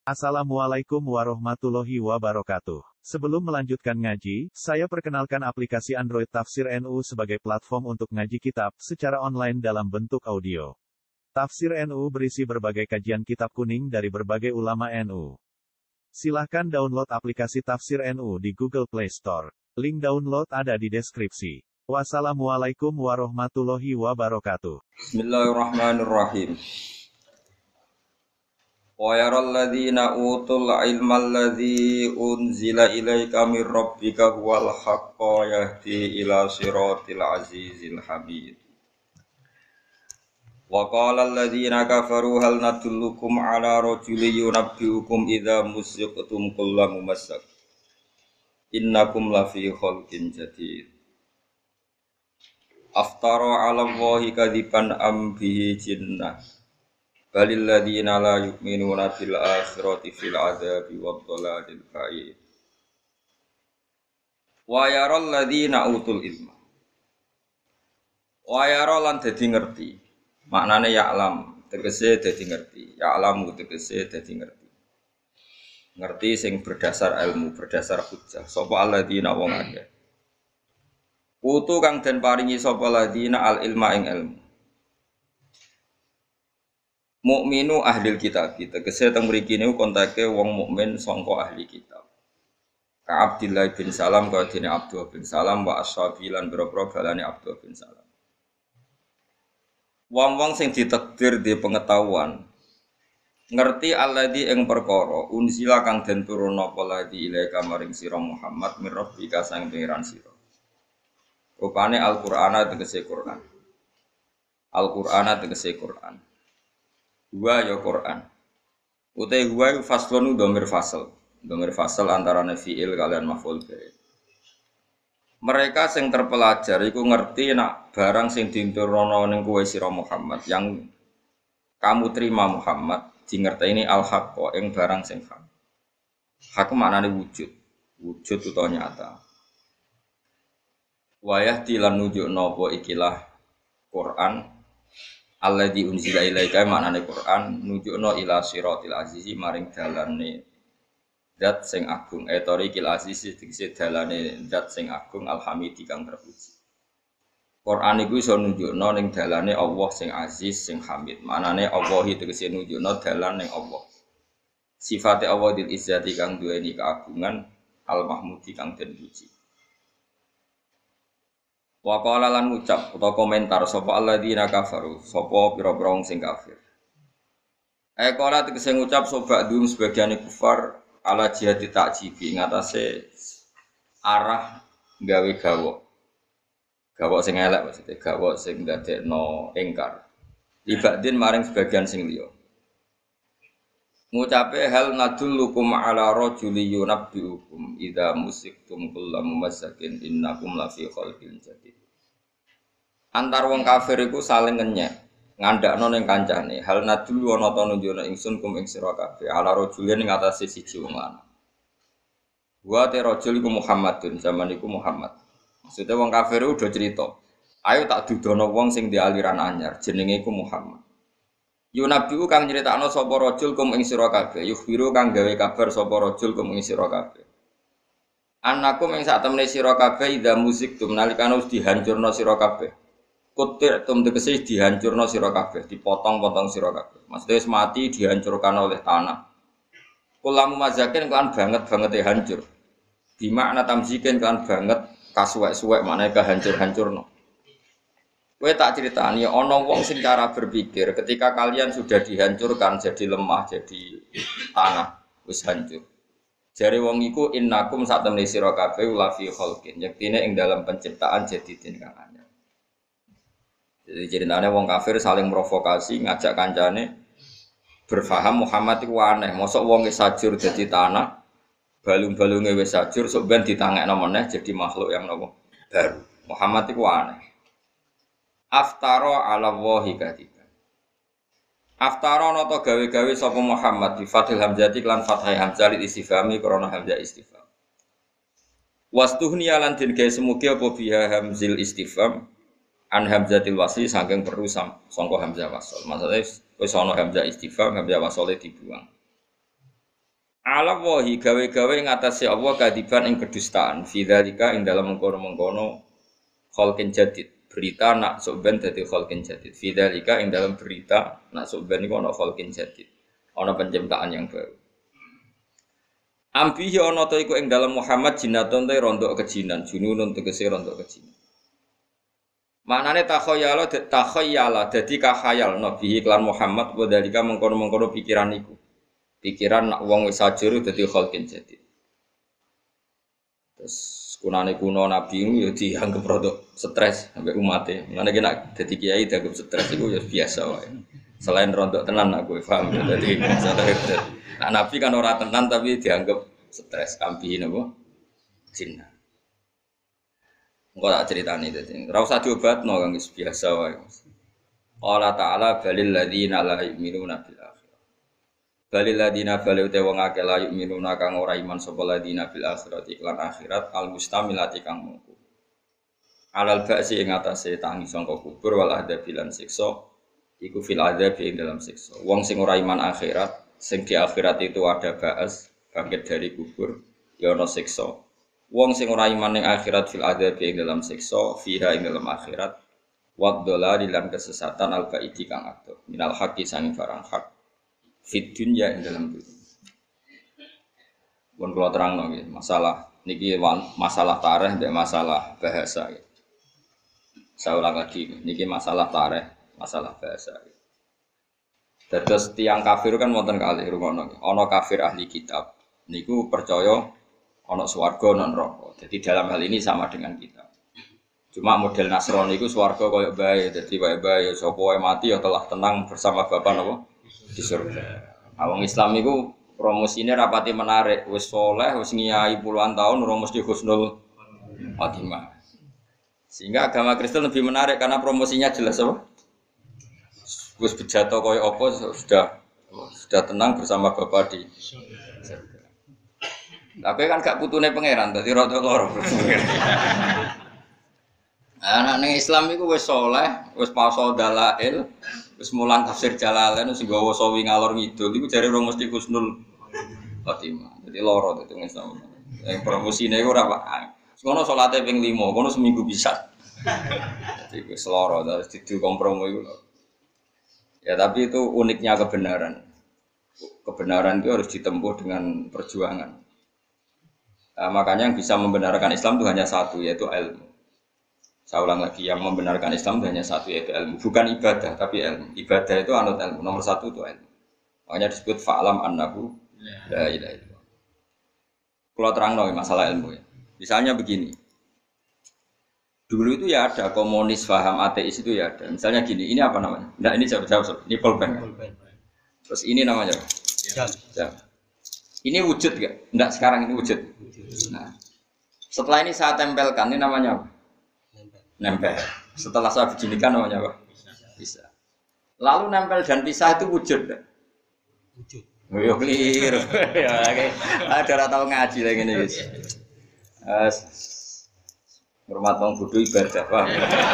Assalamualaikum warahmatullahi wabarakatuh. Sebelum melanjutkan ngaji, saya perkenalkan aplikasi Android Tafsir NU sebagai platform untuk ngaji kitab secara online dalam bentuk audio. Tafsir NU berisi berbagai kajian kitab kuning dari berbagai ulama NU. Silahkan download aplikasi Tafsir NU di Google Play Store. Link download ada di deskripsi. Wassalamualaikum warahmatullahi wabarakatuh. Bismillahirrahmanirrahim. Wa yaral ladzina utul ilma alladzi unzila ilaika mir rabbika huwal haqqu yahdi ila siratil azizil hamid. Wa qala alladzina kafaru hal nadullukum ala rajulin yunabbiukum idza musiqtum kullu mumassak. Innakum lafi khalqin jadid. Aftara 'ala Allahi kadziban am bihi jinnah. Balil ladzina la yu'minuna bil akhirati fil 'adzabi wad dhalalil ba'id. Wa yaral ladzina utul ilma. Wa yara lan dadi ngerti. Maknane ya'lam, tegese dadi ngerti. Ya'lamu tegese dadi ngerti. Ngerti sing berdasar ilmu, berdasar hujjah. Sapa alladzina wong akeh. Utu kang den paringi sapa ladzina al ilma ing ilmu. Mukminu ahlil kitab, tegese teng mriki niku kontake wong mukmin sangka ahli kitab. Ka Abdullah bin Salam ka dene Abdullah bin Salam wa ashabi lan boro-boro balane Abdullah bin Salam. Wong-wong sing ditakdir di pengetahuan ngerti alladzi ing perkara unzila kang den turunna apa ladzi ilaika maring sira Muhammad mir rabbika sang pangeran sira. Rupane Al-Qur'ana tegese Qur'an. Al-Qur'ana tegese Qur'an. Huwa ya Quran. Utai huwa faslun dhamir fasal. Dhamir fasal antarane fiil kalian maf'ul bih. Mereka sing terpelajar iku ngerti nak barang sing diturunno ning kowe sira Muhammad yang kamu terima Muhammad dingerteni al-haqqo ing barang sing hak. Hak maknane wujud. Wujud utawa nyata. Wayah dilan nunjukno apa ikilah Quran. Alladzi unzila ilaika maknane Quran nunjukno ila siratil azizi maring dalane zat sing agung tariqil azizi tegese dalane zat sing agung alhamidi kang terpuji. Quran iku iso nunjukno ning dalane Allah sing aziz sing hamid. Maknane Allah tegese nunjukno dalan ning Allah. Sifate Allah dil izzati kang duweni keagungan al mahmudi kang den puji. Wa qala lan ngucap utawa komentar sapa alladzina kafaru sapa pira-pira wong sing kafir. Qala tegese ngucap sapa dum sebagiane kufar ala jihati ta'jibi ngatasé arah gawe gawok. Gawok sing elek maksudnya gawok sing ndadekno engkar. Ibadin maring sebagian sing liya. Ngucape hal nadullukum ala rajuli yunabbiukum idza musiktum kullu mumassakin innakum lafi khalqin jadid. Antar wong kafir iku saling ngenyek, ngandakno ning kancane. Hal nadullu ana ta nunjukna ingsun kum ing sira kabeh ala rajulin ing atase siji wong lanang. Wa te rajul iku Muhammadun, zaman iku Muhammad. Maksudnya wong kafir udah cerita, ayo tak dudono wong sing di aliran anyar, jenenge iku Muhammad. Yunabiu kang nyritakno sapa rajul kum ing sira kabeh, yukhbiru kang gawe kabar sapa rajul kum ing sira kabeh. Annakum ing sak temene sira kabeh idza musiktum nalikane wis dihancurna sira kabeh. Kutir tegese dihancurna sira kabeh, dipotong-potong sira kabeh. Maksudnya wis mati dihancurkan oleh tanah. Kulamu mazakin kan banget-bangete hancur. Di makna tamzikin kan banget kasuwek-suwek maknane kehancur-hancurno. Kowe tak critani ana wong sing cara berpikir ketika kalian sudah dihancurkan jadi lemah, jadi tanah, wis hancur. Jare wong iku innakum sak temene sira kabeh la fi khalqin, yektine ing dalam penciptaan jadidin kang anyar. Jadi ceritane wong kafir saling provokasi ngajak kancane berfaham Muhammad iku aneh, mosok wong wis sajur dadi tanah, balung-balunge wis sajur sok ben ditangekno meneh jadi makhluk yang nopo baru. Muhammad iku aneh. Aftara 'ala Allahi kadiban. Aftara nata gawe-gawe sapa Muhammad bi fathil hamzati lan fathai hamzah li istifhami krana hamzah istifham. Wastuhniya lan den gawe semugi apa biha hamzil istifham an hamzatil wasli saking perlu sangka hamzah wasl. Maksudnya wis ana hamzah istifham, hamzah wasle dibuang. Ala wahi gawe-gawe ing atase Allah kadiban ing kedustaan. Fi dzalika ing dalam mengkono-mengkono khalqin jadid. Berita nak sok ben dadi khalqin jadid. Fi dzalika ing dalam berita nak sok ben iku ana khalqin jadid. Ana penciptaan yang baru. Ambihi ana ta iku ing dalam Muhammad jinatun te rondok kejinan, jununun tegese rondok kejinan. Maknane takhayyala dadi kahayal nabi iklan Muhammad wa dalika mengkono-mengkono pikiran iku. Pikiran nak wong wis sajur dadi khalqin jadid. Terus kunane kuno nabi itu ya dianggap rodok stres sampai umatnya. Mulane nek dadi kiai dianggap stres iku ya biasa wae. Selain rodok tenan aku paham dadi stres. Nah, nabi kan ora tenan tapi dianggap stres ambihin apa? Jinna. Engko tak critani dadi. Ora usah diobatno kang wis biasa wae. Allah Ta'ala balil ladzina la yu'minuna bil akhirah. Balil ladzina balu te wong akeh la yu'minuna kang ora iman sapa ladzina bil akhirat iklan akhirat al mustamilati kang mungku. Alal ba'si ing atase tangi sangka kubur wal adzab lan siksa iku fil adzab ing dalam siksa. Wong sing ora iman akhirat, sing di akhirat itu ada ba'as, bangkit dari kubur, ya ana siksa. Wong sing ora iman ning akhirat fil adzab ing dalam siksa, fiha ing dalam akhirat, wa dhalal lan kesesatan al baidi kang ado. Minal haqqi sang barang hak. Fit dunya ing dalam dunya. Pun kula terangno nggih, masalah niki masalah tarikh mbek masalah bahasa. Saya ulang lagi, niki masalah tarikh, masalah bahasa. Terus tiang kafir kan wonten kalih rumono. Ana kafir ahli kitab. Niku percaya ana swarga ana neraka. Jadi dalam hal ini sama dengan kita. Cuma model Nasrani iku swarga koyo bae. Dadi wae bae sapa wae mati ya telah tenang bersama Bapa napa di surga. Wong Islam iku promosine rapati menarik. Wis saleh, wis ngiyai puluhan tahun ora mesti husnul khotimah. Sehingga agama Kristen lebih menarik karena promosinya jelas apa? Wis bejato koyo apa sudah tenang bersama Bapa di surga. Tapi kan gak putune pangeran, dadi rada loro. Anak ning Islam iku wis saleh, wis paso dalail, wis mulang tafsir Jalalain wis nggawa sawi ngalor ngidul iku jare ora mesti husnul khotimah. Dadi loro dadi Islam. Yang promosine iku ora Pak. Ngono salate ping 5, ngono seminggu bisa. Dadi wis loro terus didu kompromi iku. Ya tapi itu uniknya kebenaran. Kebenaran itu harus ditempuh dengan perjuangan. Nah, makanya yang bisa membenarkan Islam itu hanya satu, yaitu ilmu. Saya ulang lagi, yang membenarkan Islam itu hanya satu, yaitu ilmu. Bukan ibadah, tapi ilmu. Ibadah itu anut ilmu. Nomor satu itu ilmu. Makanya disebut fa'lam annahu la ilaha illallah. Kalau terang masalah ilmu ya. Misalnya begini. Dulu itu ya ada komunis paham ateis itu ya ada. Misalnya gini, ini apa namanya? Nah ini jawab. Ini pulpen. Terus ini namanya apa? Jam. Ini wujud gak? Enggak, sekarang ini wujud. Nah, setelah ini saya tempelkan, ini namanya apa? Nempel. Setelah saya beginikan namanya apa? Bisa. Lalu nempel dan pisah itu wujud gak? Wujud. Oh, keliru. Ya, ada orang tahu ngaji lagi ini. Hormat wong bodho ibadah, Pak.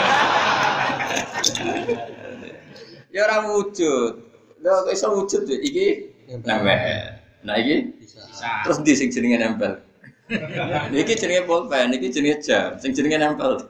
Ya ora wujud. Lha kok iso wujud iki nempel. Nah iki bisa. Terus ndi sing jenenge nempel? Niki jenenge pulpen, niki jenenge jam, sing jenenge nempel.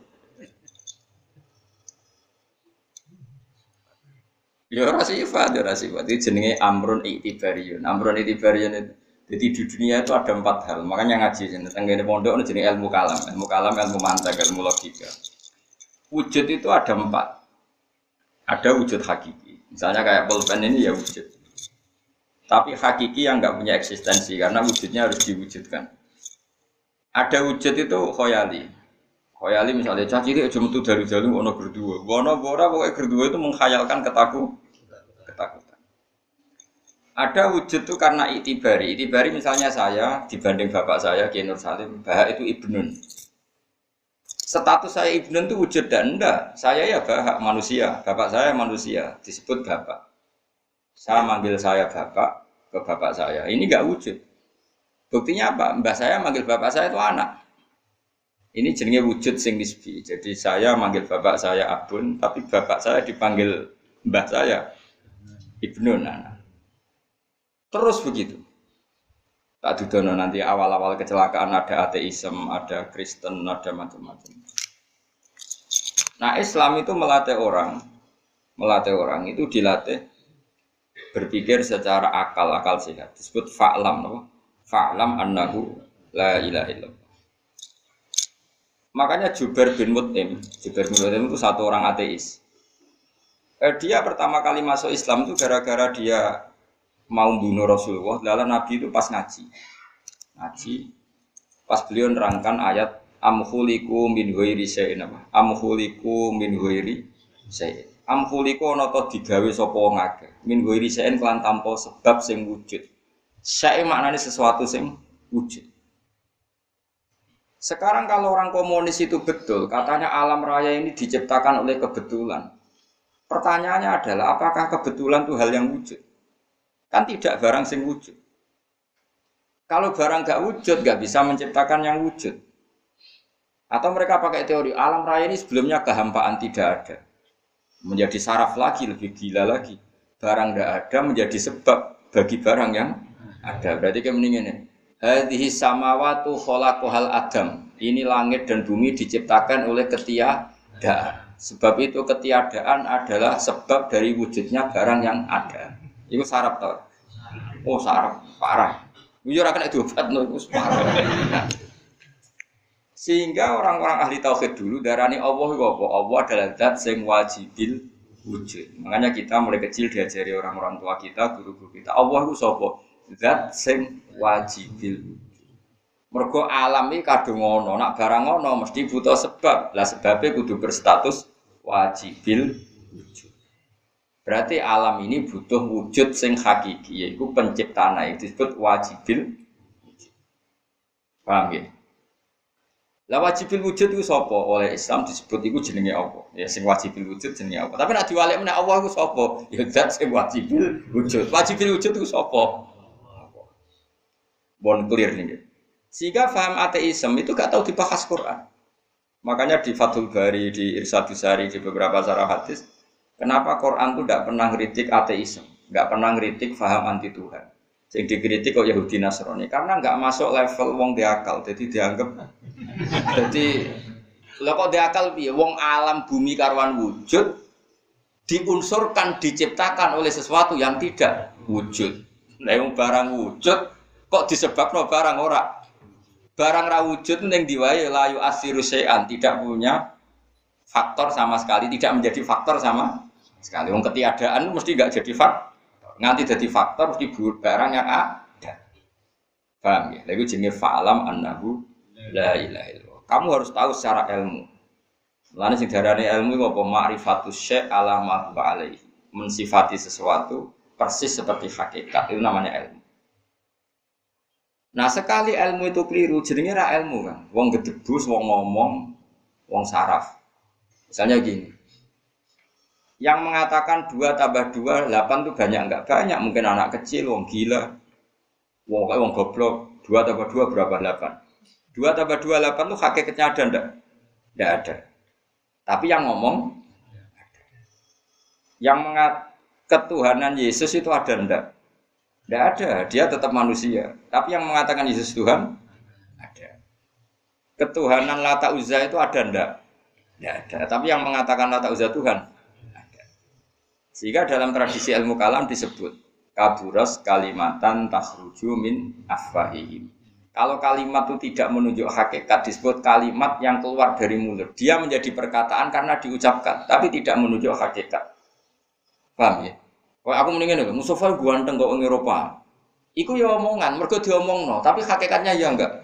Ya ora sifat, Iki jenenge amrun iktibariyun. Amrun iktibariyun itu jadi di dunia itu ada 4 hal. Makanya ngaji tentang ini pondok ini jenis ilmu kalam, ilmu mantek, ilmu logika. Wujud itu ada 4. Ada wujud hakiki. Misalnya kayak pulpen ini ya wujud. Tapi hakiki yang enggak punya eksistensi karena wujudnya harus diwujudkan. Ada wujud itu khoyali. Khoyali misalnya cah cilik aja metu dalu-dalu ono berdua. Ono ora pokoke berdua itu menghayalkan ketakutan. Ada wujud itu karena itibari. Itibari misalnya saya dibanding bapak saya Kiai Nur Salim, Bahak itu ibnun. Status saya ibnun itu wujud dan enggak. Saya ya Bahak manusia, bapak saya manusia, disebut bapak. Saya manggil saya bapak ke bapak saya. Ini enggak wujud. Buktinya apa? Mbah saya manggil bapak saya itu anak. Ini jenenge wujud sing nisbi. Jadi saya manggil bapak saya abun, tapi bapak saya dipanggil mbah saya ibnun anak. Terus begitu. Tak dudono nanti awal-awal kecelakaan ada ateisme, ada Kristen, ada macam-macam. Nah, Islam itu melatih orang itu dilatih berpikir secara akal sehat. Disebut fa'lam, apa? Fa'lam annahu la ilaha illallah. Makanya Jubair bin Mut'im itu satu orang ateis. Dia pertama kali masuk Islam itu gara-gara dia mau bunuh Rasulullah. Lalu Nabi itu pas ngaji, pas beliau nerangkan ayat amkhuliku min ghairi syai'in apa? Amkhuliku min ghairi syai'in. Amkhuliku ana ta digawe sapa wong akeh. Min ghairi syai'in kelan tanpa sebab sing wujud. Syai' maknane sesuatu sing wujud. Sekarang kalau orang komunis itu betul, katanya alam raya ini diciptakan oleh kebetulan. Pertanyaannya adalah apakah kebetulan itu hal yang wujud? Kan tidak barang sing wujud. Kalau barang gak wujud, gak bisa menciptakan yang wujud. Atau mereka pakai teori alam raya ini sebelumnya kehampaan tidak ada. Menjadi saraf lagi, lebih gila lagi. Barang gak ada menjadi sebab bagi barang yang ada. Berarti kayak mendingan ya. Hadhihi samawatu khalaqahal adam. Ini langit dan bumi diciptakan oleh ketiadaan. Sebab itu ketiadaan adalah sebab dari wujudnya barang yang ada. Itu saraf tau. Oh saraf parah. Yo ora kena diobat no iku parah. Sehingga orang-orang ahli tauhid dulu darani Allah iku apa? Allah adalah zat sing wajibil wujud. Makanya kita mulai kecil diajari orang-orang tua kita, guru-guru kita, Allah iku sapa? Zat sing wajibil wujud. Mergo alam iki kadung ngono, nak barang ngono mesti butuh sebab. Lah sebabnya kudu berstatus wajibil wujud. Berarti alam ini butuh wujud sing hakiki, yaitu penciptaan itu disebut wajibil wujud. Paham ya? Lah wajibil wujud itu sapa? Oleh Islam disebut iku jenenge apa? Ya sing wajibil wujud jenenge apa? Tapi nek diwalek meneh Allah iku sapa? Ya zat sing wajibil wujud. Wajibil wujud itu sapa? Bon clear nih. Sehingga faham ateisme itu gak tahu dibahas Quran. Makanya di Fathul Bari, di Irsyadus Sari, di beberapa syarah hadis, kenapa Quran itu tidak pernah ngeritik ateisme, tidak pernah ngeritik faham anti Tuhan. Yang dikritik kok Yahudi Nasrani, karena nggak masuk level wong diakal, jadi dianggap. Jadi, lah kok diakal piye? Wong alam bumi karwan wujud diunsurkan, diciptakan oleh sesuatu yang tidak wujud. Nah, yang barang wujud kok disebabkan barang ora. Barang ra wujud ning diwae layu asiru syai'an, tidak punya faktor sama sekali, tidak menjadi faktor sama sekali. Wong ketiadaan mesti enggak jadi faktor. Nganti jadi faktor mesti barang yang ada. Paham ya? Lha iku jenenge fa'lam annahu la ilaha illallah. Kamu harus tahu secara ilmu. Mulane sing diarani ilmu iku apa? Ma'rifatus syai' ala ma huwa alaihi. Mensifati sesuatu persis seperti hakikat. Itu namanya ilmu. Nah sekali ilmu itu keliru, jenenge ra ilmu kan. Wong gedebus, wong ngomong, wong saraf. Misalnya gini. Yang mengatakan 2 tambah 2, 8 itu banyak enggak? Banyak, mungkin anak kecil, wong gila. Wong goblok, 2 tambah 2 berapa? 8. 2 tambah 2, 8 itu hakikatnya ada enggak? Enggak ada. Tapi yang ngomong ada. Yang ketuhanan Yesus itu ada enggak? Tidak ada, dia tetap manusia. Tapi yang mengatakan Yesus Tuhan, ada. Ketuhanan Lata Uzza itu ada enggak? Tidak ada. Tapi yang mengatakan Lata Uzza Tuhan, ada. Sehingga dalam tradisi ilmu kalam disebut, kaburas kalimatan takhruju min afwahihim. Kalau kalimat itu tidak menunjuk hakikat, disebut kalimat yang keluar dari mulut. Dia menjadi perkataan karena diucapkan, tapi tidak menunjuk hakikat. Paham ya? Kalau aku mendingin, Mustafa ganteng kok orang Eropa. Iku ya omongan, mergo diomongno, tapi hakikatnya ya enggak.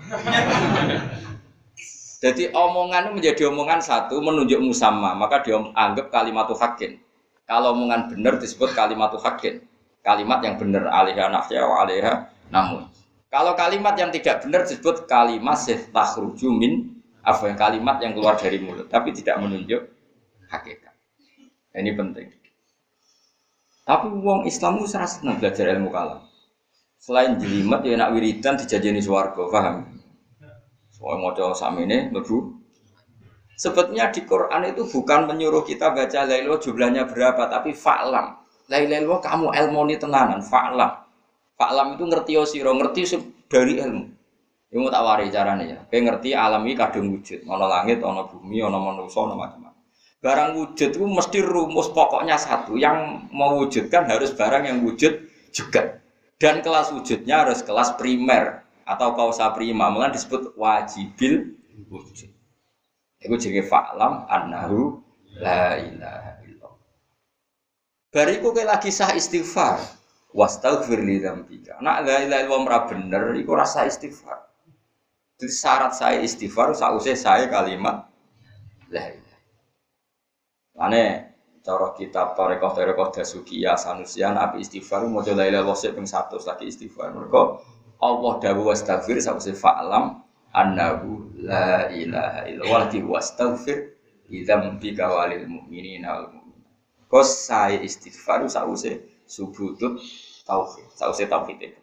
Jadi omongan itu menjadi omongan satu menunjuk musamma, maka dianggap kalimatu haqqin. Kalau omongan benar disebut kalimatu haqqin. Kalimat yang benar alaiha nahya wa alaiha namun. Kalau kalimat yang tidak benar disebut kalimat takhruju min afwan, kalimat yang keluar dari mulut tapi tidak menunjuk hakikat. Ini penting. Tapi wong Islam itu serasa senang belajar ilmu kalam. Selain jelimet ya nak wiridan dijajani swarga, paham? Soal maca samene mlebu. Sebetulnya di Quran itu bukan menyuruh kita baca la ilaha jumlahnya berapa, tapi fa'lam. La ilaha illallah kamu ilmoni tenanan, fa'lam. Fa'lam itu ngerti sira, ngerti dari ilmu. Iku tak wari carane ya. Kowe ngerti alam iki kadung wujud, ana langit, ana bumi, ana manusa, ana macam-macam. Barang wujud itu mesti rumus pokoknya satu, yang mewujudkan harus barang yang wujud juga. Dan kelas wujudnya harus kelas primer atau kausa prima, malah disebut wajibil wujud. Iku jenenge fa'lam annahu la ilaha illallah. Bariku kowe lagi sah istighfar, wastaghfir li dzambika. Nek la ilaha illallah ora bener iku rasa istighfar. Jadi syarat saya istighfar sausé saya kalimat la ilaha. Lane cara kitab Thariqah Dasukiyah Sanusian api istighfar maca la ilaha illallah ping 100 lagi istighfar. Mergo Allah dawuh wastaghfir sausé fa'lam annahu la ilaha illallah wastaghfir lidzambika walil mu'minina wal mu'minat. Kos saya istighfar sausé subutut tauhid, sausé tauhid itu.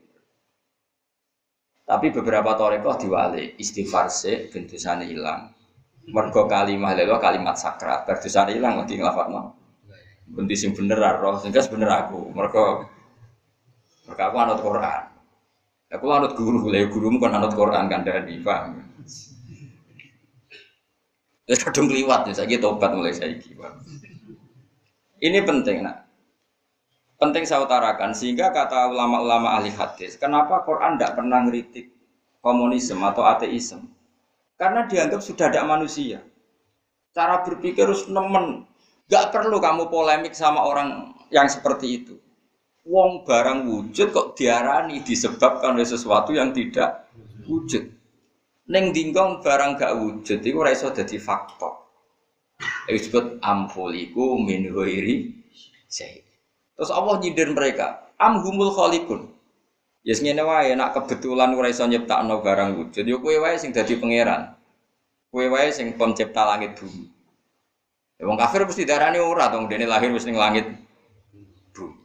Tapi beberapa thariqah diwali istighfar sik ben dosane ilang. Mergo kalimat la kalimat sakral, bar dosane ilang lagi nglafadzno. Bunti sing bener roh, sing bener aku. Mergo aku anut Quran. Aku anut guru, lha gurumu kan anut Quran kandhani, paham. Wis kadung kliwat ya saiki tobat mulai saiki, Pak. Ini penting, Nak. Penting saya utarakan sehingga kata ulama-ulama ahli hadis, kenapa Quran tidak pernah ngeritik komunisme atau ateisme? Karena dianggap sudah ada manusia. Cara berpikir harus nemen. Gak perlu kamu polemik sama orang yang seperti itu. Wong barang wujud kok diarani disebabkan oleh sesuatu yang tidak wujud. Neng dingkong barang gak wujud itu ora iso dadi faktor. Itu disebut amfuliku min ghairi syai'. Terus Allah nyindir mereka, amhumul khaliqun. Ya ngene wae nek kebetulan ora iso nyiptakno barang wujud, ya kowe wae sing dadi pangeran. Kowe wae sing pencipta langit bumi. Ya wong kafir mesti darani ora to, dene lahir wis ning langit bumi.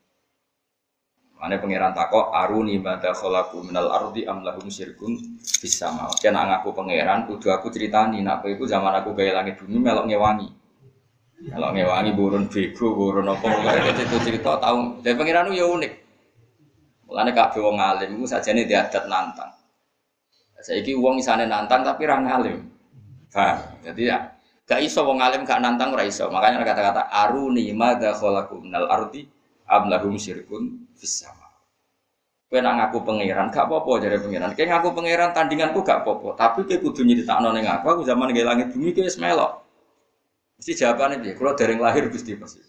Mane pangeran takok aruni madza khalaqu minal ardi am lahum syirkun fis sama. Yen ngaku pangeran kudu aku critani nek kowe iku zaman aku gawe langit bumi melok ngewangi. Kalau ngewangi burun bego, burun apa itu cerita tahu. Dan pangeran itu ya unik. Mulane kabeh wong alim iku sajane diadat nantang. Saiki wong isane nantang tapi ra ngalim. Paham? Jadi ya gak iso wong alim gak nantang ora iso. Makanya kata-kata aruni madza khalaqu minal ardi am lahum syirkun fis sama. Kowe nak ngaku pangeran gak apa-apa jare pangeran. Kowe ngaku pangeran tandinganku gak apa-apa, tapi kowe kudu nyritakno ning aku zaman gawe langit bumi kowe wis melok. Mesti jawabannya dia, kalau dereng lahir Gusti pasti.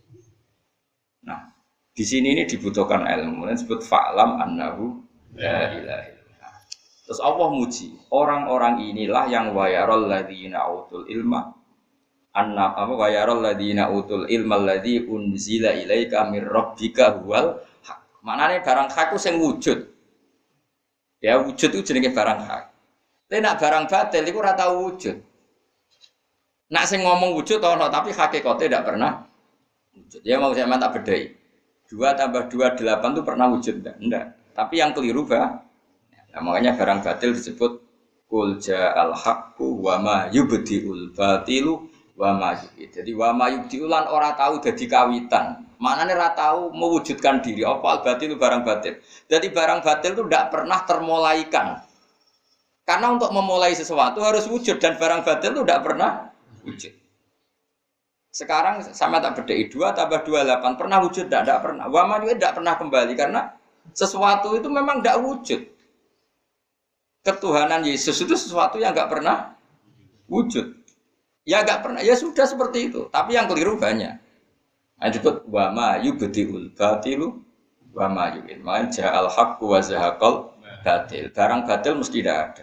Nah, di sini ini dibutuhkan ilmu, dan disebut fa'lam annahu la ilaha illallah. Terus Allah muji, orang-orang inilah yang wayarul ladzina utul ilma wayarul ladzina utul ilma alladzi unzila ilaika mir rabbika huwal haq. Maknane barang hak ku sing wujud. Ya wujud itu jenenge barang hak. Tapi nek barang batil iku ora tau wujud. Nak sing ngomong wujud ana tapi hakikate tidak pernah wujud. Ya mau saya tak bedai. 2 + 2 8 itu pernah wujud enggak? Tapi yang keliru bah. Nah, makanya barang batil disebut qul ja'al haqqu wa ma yubdiul batilu wa ma yubdi. Jadi wa ma yubdiulan ora tahu dadi kawitan. Maknane ora tahu mewujudkan diri. Apa batil barang batil. Jadi barang batil itu tidak pernah termulaikan. Karena untuk memulai sesuatu harus wujud dan barang batil itu tidak pernah wujud. Sekarang sama tak bedai 2 + 2 8 pernah wujud tidak pernah. Wama juga tidak pernah kembali karena sesuatu itu memang tidak wujud. Ketuhanan Yesus itu sesuatu yang enggak pernah wujud. Ya enggak pernah. Ya sudah seperti itu. Tapi yang keliru banyak. Nah, disebut wama yubdiul batilu wama yu'in. Man ja'al haqqu wa zahaqal batil. Barang batil mesti tidak ada.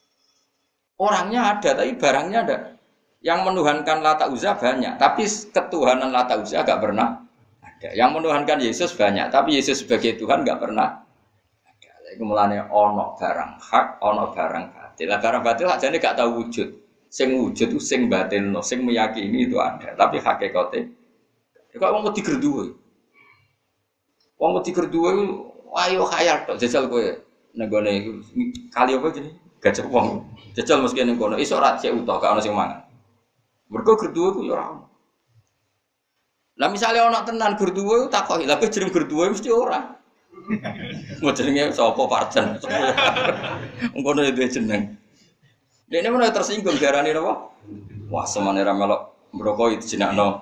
Orangnya ada tapi barangnya ada. Yang menuhankan Lata Uzza banyak, tapi ketuhanan Lata Uzza enggak pernah ada. Yang menuhankan Yesus banyak, tapi Yesus sebagai Tuhan enggak pernah ada. Iku mulane ana barang hak, ana barang batil. Lah barang batil ajane gak tahu wujud. Sing wujud itu sing batilno, sing meyakini itu ada, tapi hakikate kok wong wedi gerduwe. Wong wedi gerduwe ayo khayal tok jajal kowe nenggone iku kali apa jenenge? Gajah wong. Jajal mesti ning kono, iso ra cek utuh gak ono sing mangan. Mergo gerduwe ku ya ora ono. Lah misale ana tenan gerduwe takoki, lha kok jeneng gerduwe mesti ora. Mau jenenge sapa Parjan? Ngono itu jeneng. Dene mana tersinggung darane napa? Wah, semane ra melok merokok itu jenakno.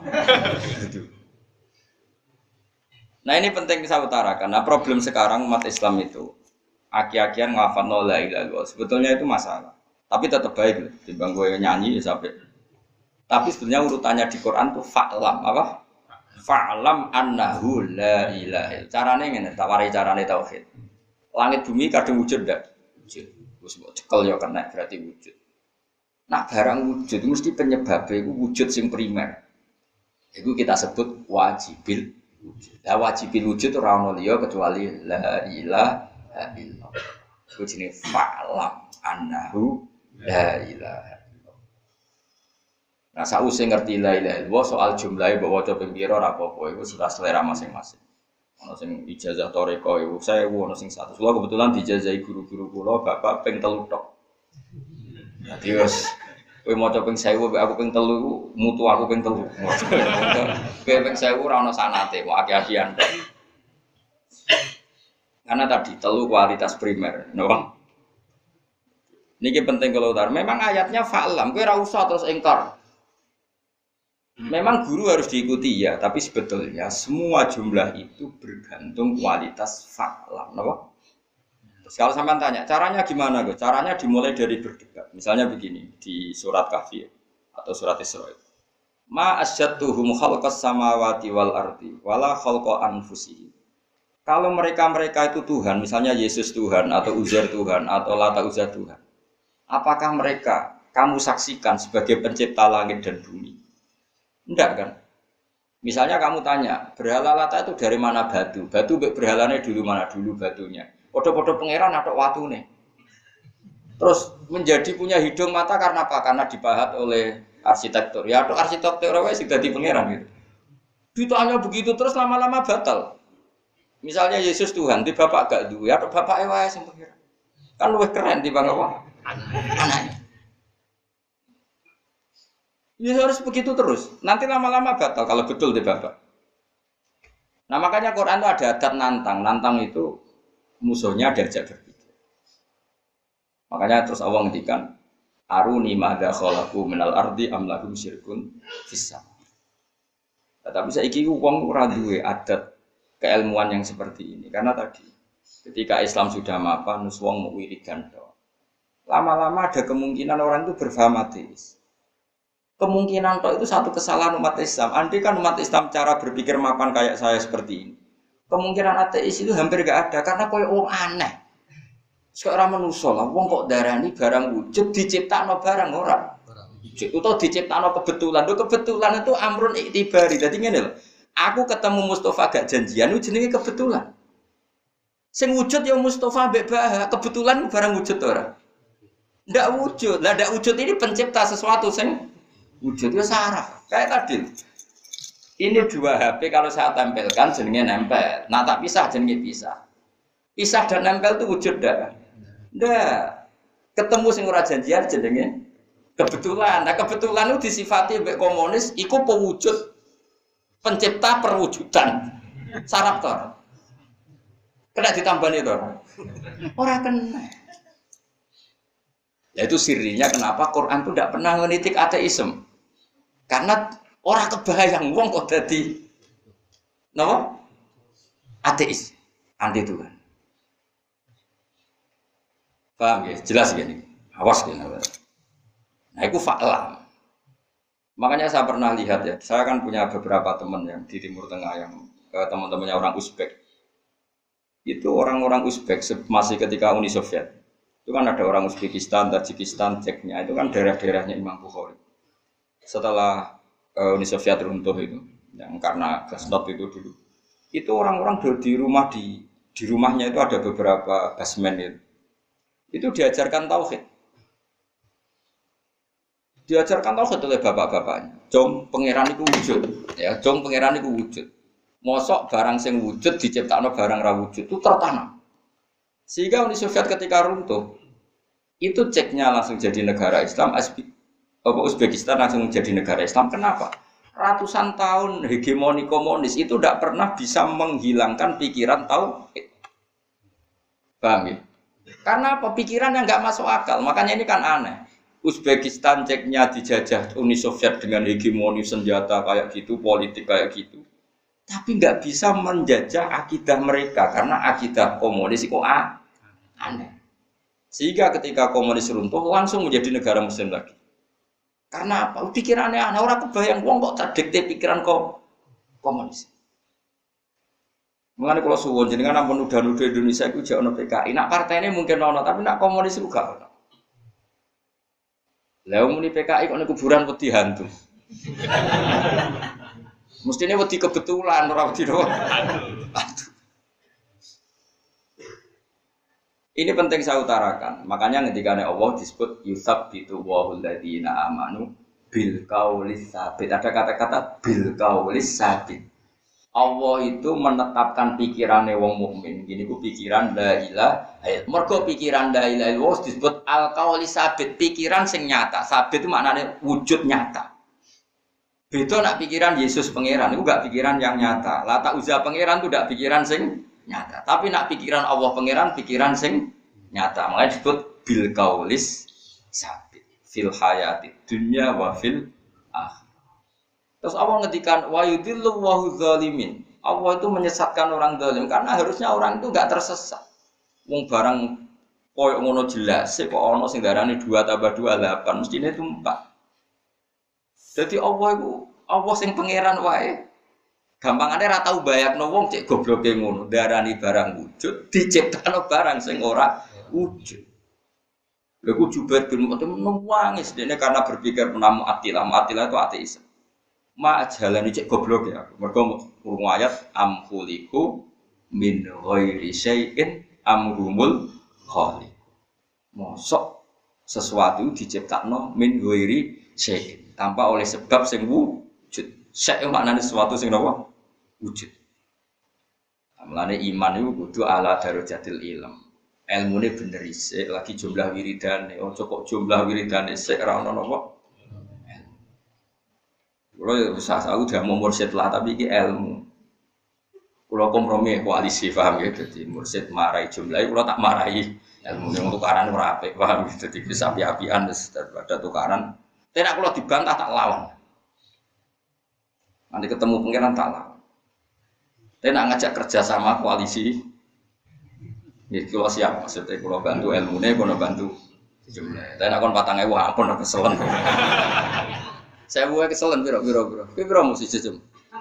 Nah, ini penting saya utarakan. Nah, problem sekarang umat Islam itu aki-akian ngafalno la ilaha illallah. Sebetulnya itu masalah. Tapi tetap baik loh. Timbang gue nyanyi ya sampai. Tapi sebetulnya urutannya di Quran tuh fa'lam apa? Fa'lam annahu la ilaha illallah. Carane ngene, tak warai carane tauhid. Langit bumi kadung wujud ndak? Wujud. Wis mbok cekel ya kena berarti wujud. Nah, barang wujud mesti penyebabnya itu wujud sing primer. Itu kita sebut wajibil wujud. Lah wajibil wujud ora ono liya kecuali la ilaha illallah. Itu jenenge fa'lam annahu la ilaha illallah. Nah, sausé ngerti la ilaha illallah soal jumlahe mbok waca ping pira ora apa-apa iku sudah selera masing-masing. Ono sing ijazah toreko iku 1000, ono sing 100. Kula kebetulan dijazahi guru-guru kula bapak ping 3 tok. Dadi wis kowe maca ping 1000 aku ping 3 iku mutu aku ping 3. Kowe ping 1000 ora ono sanate, mau aki-akian. Karena tadi telu kualitas primer, no? Niki penting kalau utar. Memang ayatnya fa'lam, kowe ora usah terus ingkar. Memang guru harus diikuti ya, tapi sebetulnya semua jumlah itu bergantung kualitas fa'lam, no? Terus kalau sampean tanya, caranya gimana, Gus? Caranya dimulai dari berdebat. Misalnya begini, di surat Kahfi atau surat Isra. Ma asyadduhum khalqas samawati wal ardi wala khalqa anfusihim. Kalau mereka-mereka itu Tuhan, misalnya Yesus Tuhan atau Uzair Tuhan atau Lata Uzza Tuhan. Apakah mereka kamu saksikan sebagai pencipta langit dan bumi? Enggak kan? Misalnya kamu tanya, berhala Lata itu dari mana batu? Batu berhalanya dulu mana dulu batunya? Podo-podo pangeran atau watune. Terus menjadi punya hidung mata karena apa? Karena dipahat oleh arsitektur. Ya atau arsitektur wae sing dadi pangeran gitu. Ditanya begitu terus lama-lama batal. Misalnya Yesus Tuhan, di bapak gak duwe, atau bapak wae sing pangeran. Kan luwih keren timbang apa? Anaknya. Ya harus begitu terus. Nanti lama-lama batal kalau betul di bapak. Nah makanya Quran itu ada adat nantang. Nantang itu musuhnya diajak berpikir. Makanya terus Allah ngendikan aruni madza khalaqu minal ardi am lahum syirkun fis sama. Tapi saiki wong ora duwe adat keilmuan yang seperti ini karena tadi ketika Islam sudah mapan wis wong mau wiridan tok. Lama-lama ada kemungkinan orang itu berfaham ateis. Kemungkinan tok itu satu kesalahan umat Islam. Andai kan umat Islam cara berpikir mapan kayak saya seperti ini. Kemungkinan ateis itu hampir gak ada karena koyo wong aneh. Sekarang manusia lah, wong kok darani barang wujud diciptakno barang ora. Wujud utawa diciptakno kebetulan. Lho kebetulan itu amrun iktibari. Dadi ngene lho. Aku ketemu Mustafa gak janjian itu jenenge kebetulan. Sing wujud ya Mustafa mbek Bah, kebetulan barang wujud ora. Ndak wujud. Lah ndak wujud ini pencipta sesuatu sing wujud ya saraf. Kayak tadi. Ini dua HP kalau saya tempelkan jenenge nempel. Nah tak pisah jenenge pisah. Pisah dan nempel itu wujud ndak? Ndak. Ketemu sing ora janjian jenenge kebetulan. Nah kebetulan itu disifati mbek komunis iku pewujud pencipta perwujudan. Saraf to. Kena ditambani to. Ora kena. Ya itu sirinya kenapa Quran itu tidak pernah menitik ateisme. Karena orang kebayang wong kok dadi napa? Ateis, anti Tuhan. Paham ya? Jelas gini. Awas gini. Nah, itu fa'lam. Makanya saya pernah lihat ya, saya kan punya beberapa teman yang di Timur Tengah yang teman-temannya orang Uzbek. Itu orang-orang Uzbek masih ketika Uni Soviet. Itu kan ada orang Uzbekistan, Tajikistan, Ceknya, itu kan daerah-daerahnya Imam Bukhari. Setelah Uni Soviet runtuh itu, yang karena Glasnost itu dulu, itu orang-orang di rumahnya itu ada beberapa basement itu diajarkan tauhid. Diajarkan tauhid oleh bapak-bapaknya. Jom pangeran itu wujud, ya, jom pangeran itu wujud. Mosok barang sing wujud diciptakno barang ra wujud itu tertanam. Sehingga Uni Soviet ketika runtuh, itu Ceknya langsung jadi negara Islam, Uzbekistan langsung jadi negara Islam. Kenapa? Ratusan tahun hegemoni komunis itu tidak pernah bisa menghilangkan pikiran tauhid. Paham ya? Karena apa? Pikiran yang nggak masuk akal. Makanya ini kan aneh. Uzbekistan ceknya dijajah Uni Soviet dengan hegemoni senjata kayak gitu, politik kayak gitu. Tapi nggak bisa menjajah akidah mereka karena akidah komunis itu aneh. Sehingga ketika komunis runtuh langsung menjadi negara muslim lagi. Karena apa? Pikirannya aneh. Orang kebayang wong kok terdikte pikiran komunis. Mengenai kalau suwon jenengan ampun nuduh Indonesia itu jauh no PKI. Nak partai ini mungkin ono, tapi nak komunis itu gak ono. Lalu muni PKI kok kuburan wedi hantu. Mestinya wedi kebetulan ora wedi doang. Ini penting saya utarakan. Makanya ketika Allah disebut yusabbitu wahul ladzina amanu bil qaulis sabit. Ada kata-kata bil qaulis sabit. Allah itu menetapkan pikirannya wong mukmin. Gini ku pikiran la ilaha illallah. Mergo pikiran la ilaha illallah disebut al qaulis sabit, pikiran sing nyata. Sabit itu maknanya wujud nyata. Beda nak pikiran Yesus pangeran itu enggak pikiran yang nyata. Lata Uzza pangeran itu enggak pikiran sing nyata. Tapi nak pikiran Allah pangeran pikiran sing nyata. Makanya disebut bil qaulis sabit fil hayati dunya wa fil akhirah. Terus Allah ngedikan wa yudillu wa hudzalimin. Allah itu menyesatkan orang zalim karena harusnya orang itu enggak tersesat. Wong barang koyo ngono jelas kok ana sing darani 2 tambah 2 8 mestine itu 4. Jadi Allah sing pangeran wae. Gampangane ra tau bayakno wong cek gobloke ngono, darani barang wujud, diciptakno barang sing ora wujud. Lha ku Jubair bin Mut'im nangis dene karena berpikir menamu atilah itu ateis. Ma jalani cek goblok ya. Mergo urung ayat am khuliqu min ghairi syai'in am humul khaliq. Mosok sesuatu diciptakno min ghairi syai'in tanpa oleh sebab sing wujud. Syai' maknane sesuatu sing napa? Wujud. Mulane iman iku kudu ala darajatil ilm. Ilmune bener isih lagi jumlah wiridane, ojo kok jumlah wiridane sik ora ono napa? Kulo ya usah aku udah mau mursyid lah tapi iki ilmu. Kulo kompromi koalisi paham ya dadi mursyid marai jumlahe kulo tak marahi ilmu yang tukaran ora apik paham ya dadi bisa api-apian daripada tukaran. Nek kulo dibantah tak lawan. Nanti ketemu pangeran tak lawan. Tapi nak ngajak kerja sama koalisi, ya kalau siap maksudnya kalau bantu ilmunya, kalau bantu jumlah. Tapi nak kon 4.000 ampun aku keselen. Saya buat keselen biro. Biro mesti jejum.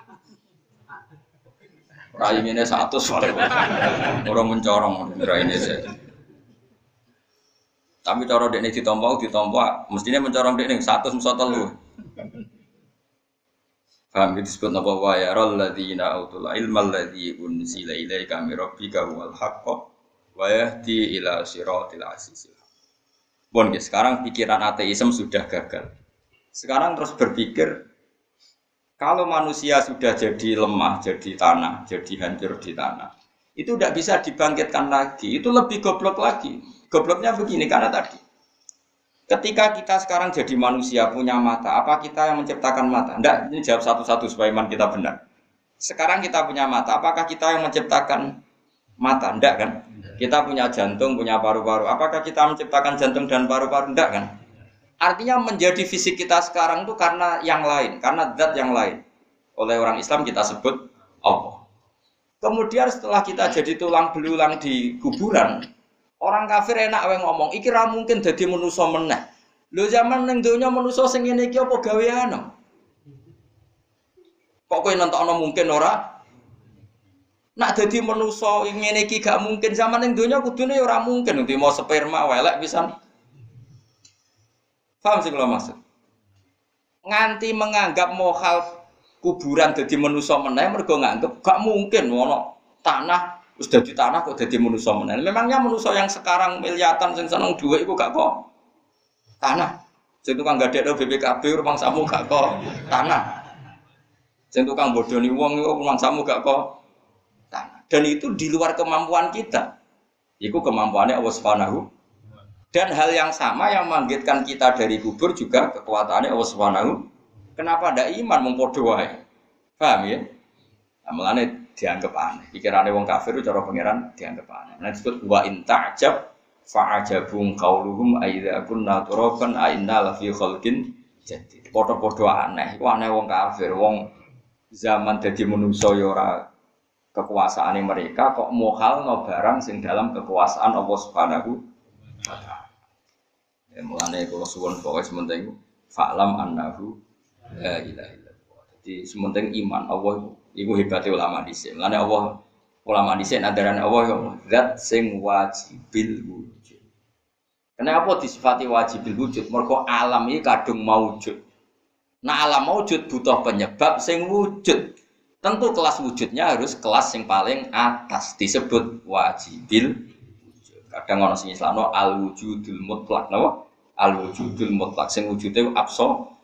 Rai ini 100 soalnya. Orang mencorong rai ini saya. Tapi cara dekne ditompo, mestinya mencorong dekne 100 mesti telu. Paham itu disebut apa wa yaral ladzina autul ilma alladzi unzila ilaika mir rabbika wal haqq wa yahdi ila siratil azizil. Bon, sekarang pikiran ateisme sudah gagal. Sekarang terus berpikir kalau manusia sudah jadi lemah, jadi tanah, jadi hancur di tanah, itu tidak bisa dibangkitkan lagi. Itu lebih goblok lagi. Gobloknya begini karena tadi ketika kita sekarang jadi manusia punya mata, apa kita yang menciptakan mata? Tidak, ini jawab satu-satu supaya iman kita benar. Sekarang kita punya mata, apakah kita yang menciptakan mata? Tidak kan? Kita punya jantung, punya paru-paru. Apakah kita menciptakan jantung dan paru-paru? Tidak kan? Artinya menjadi fisik kita sekarang itu karena yang lain, karena zat yang lain. Oleh orang Islam kita sebut Allah. Kemudian setelah kita jadi tulang belulang di kuburan, orang kafir enak wae ngomong, iki ra mungkin dadi manusa meneh. Lho zaman ning donya manusa sing ngene iki apa gaweane? Kok kowe nentokno mungkin ora? Nak dadi manusa ngene iki gak mungkin zaman ning donya kudune ya ora mungkin nanti mau sperma welek pisan. Paham sing kula maksud? Nganti menganggap mohal kuburan dadi manusa meneh mergo nganggep gak mungkin ono tanah wis dadi tanah kok dadi manusa meneh. Memangnya manusa yang sekarang miliatan sing seneng dhuwit iku gak kok tanah. Sing tukang gadekno BPKB rumangsamu gak kok tanah. Sing tukang bodoni wong iku rumangsamu gak kok tanah. Dan itu di luar kemampuan kita. Iku kemampuannya Allah Subhanahu. Dan hal yang sama yang membangkitkan kita dari kubur juga kekuatannya Allah Subhanahu. Kenapa ndak iman mung padha wae? Paham ya? Amalane dianggap aneh. Pikirane wong kafir itu cara pangeran dianggap aneh. Nah disebut wa in ta'jab fa'ajabun qauluhum aidza kunna turaban a inna la fi khalqin jadid. Padha-padha aneh. Iku aneh wong kafir, wong zaman dadi manungsa ya ora kekuasaane mereka kok mohalno barang sing dalam kekuasaan Allah Subhanahu wa taala. Ya mulane kula suwun pokoke sementing fa'lam annahu la ilaha illallah. Jadi sementing iman Allah iku hebate ulama dhisik. Mulane Allah ulama dhisik adaran Allah ya zat sing wajibil wujud. Kenapa disifati wajibil wujud? Mergo alam iki kadung maujud. Nah alam maujud butuh penyebab sing wujud. Tentu kelas wujudnya harus kelas yang paling atas disebut wajibil wujud. Kadang ana sing islamno al wujudul mutlak napa? Al wujudul mutlak sing wujude absolut.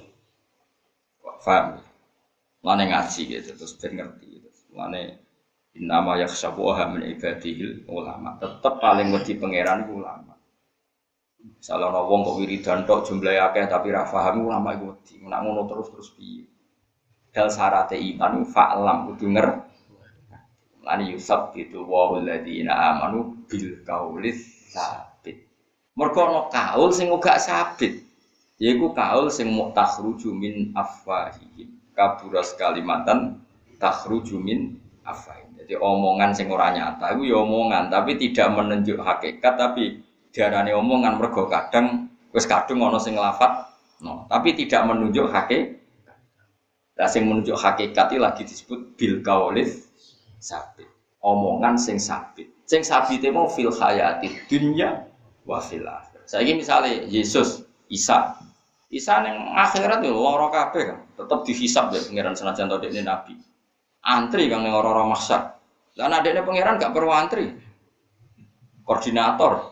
Paham? Lane ngaji gitu terus ben ngerti gitu. Lane innama yakhshabuha min ibadihil ulama. Tetep paling wedi pangeran iku ulama. Salah ana wong kok wiridan tok jumlahe akeh tapi ra paham ulama iku wedi. Nek ngono terus piye? Dal syarate iman fa'lam kudu ngerti. Lane yusab gitu wa alladziina amanu bil qaulis sabit. Mergo ana kaul sing uga sabit. Yaiku kaul sing mukhruju min afwahihim. Kaburas kalimatan takhruju min afwahihim. Jadi omongan sing ora nyata iku ya omongan tapi tidak menunjuk hakikat tapi diarani omongan mergo kadang wis kadung ana sing lafat no, tapi tidak menunjuk hakikat. Lah sing menunjuk hakikat iki lagi disebut bil qaulis sabit. Omongan sing sabit. Sing sabite mau fil hayati dunya wa fil akhirah. Saiki misale Yesus, Isa ning akhirat yo lara kabeh kan. Tetep dihisab ya pangeran senajan to dekne nabi. Antri kang ning ora-ora mahsyar. Lah nek dekne pangeran gak perlu antri. Koordinator.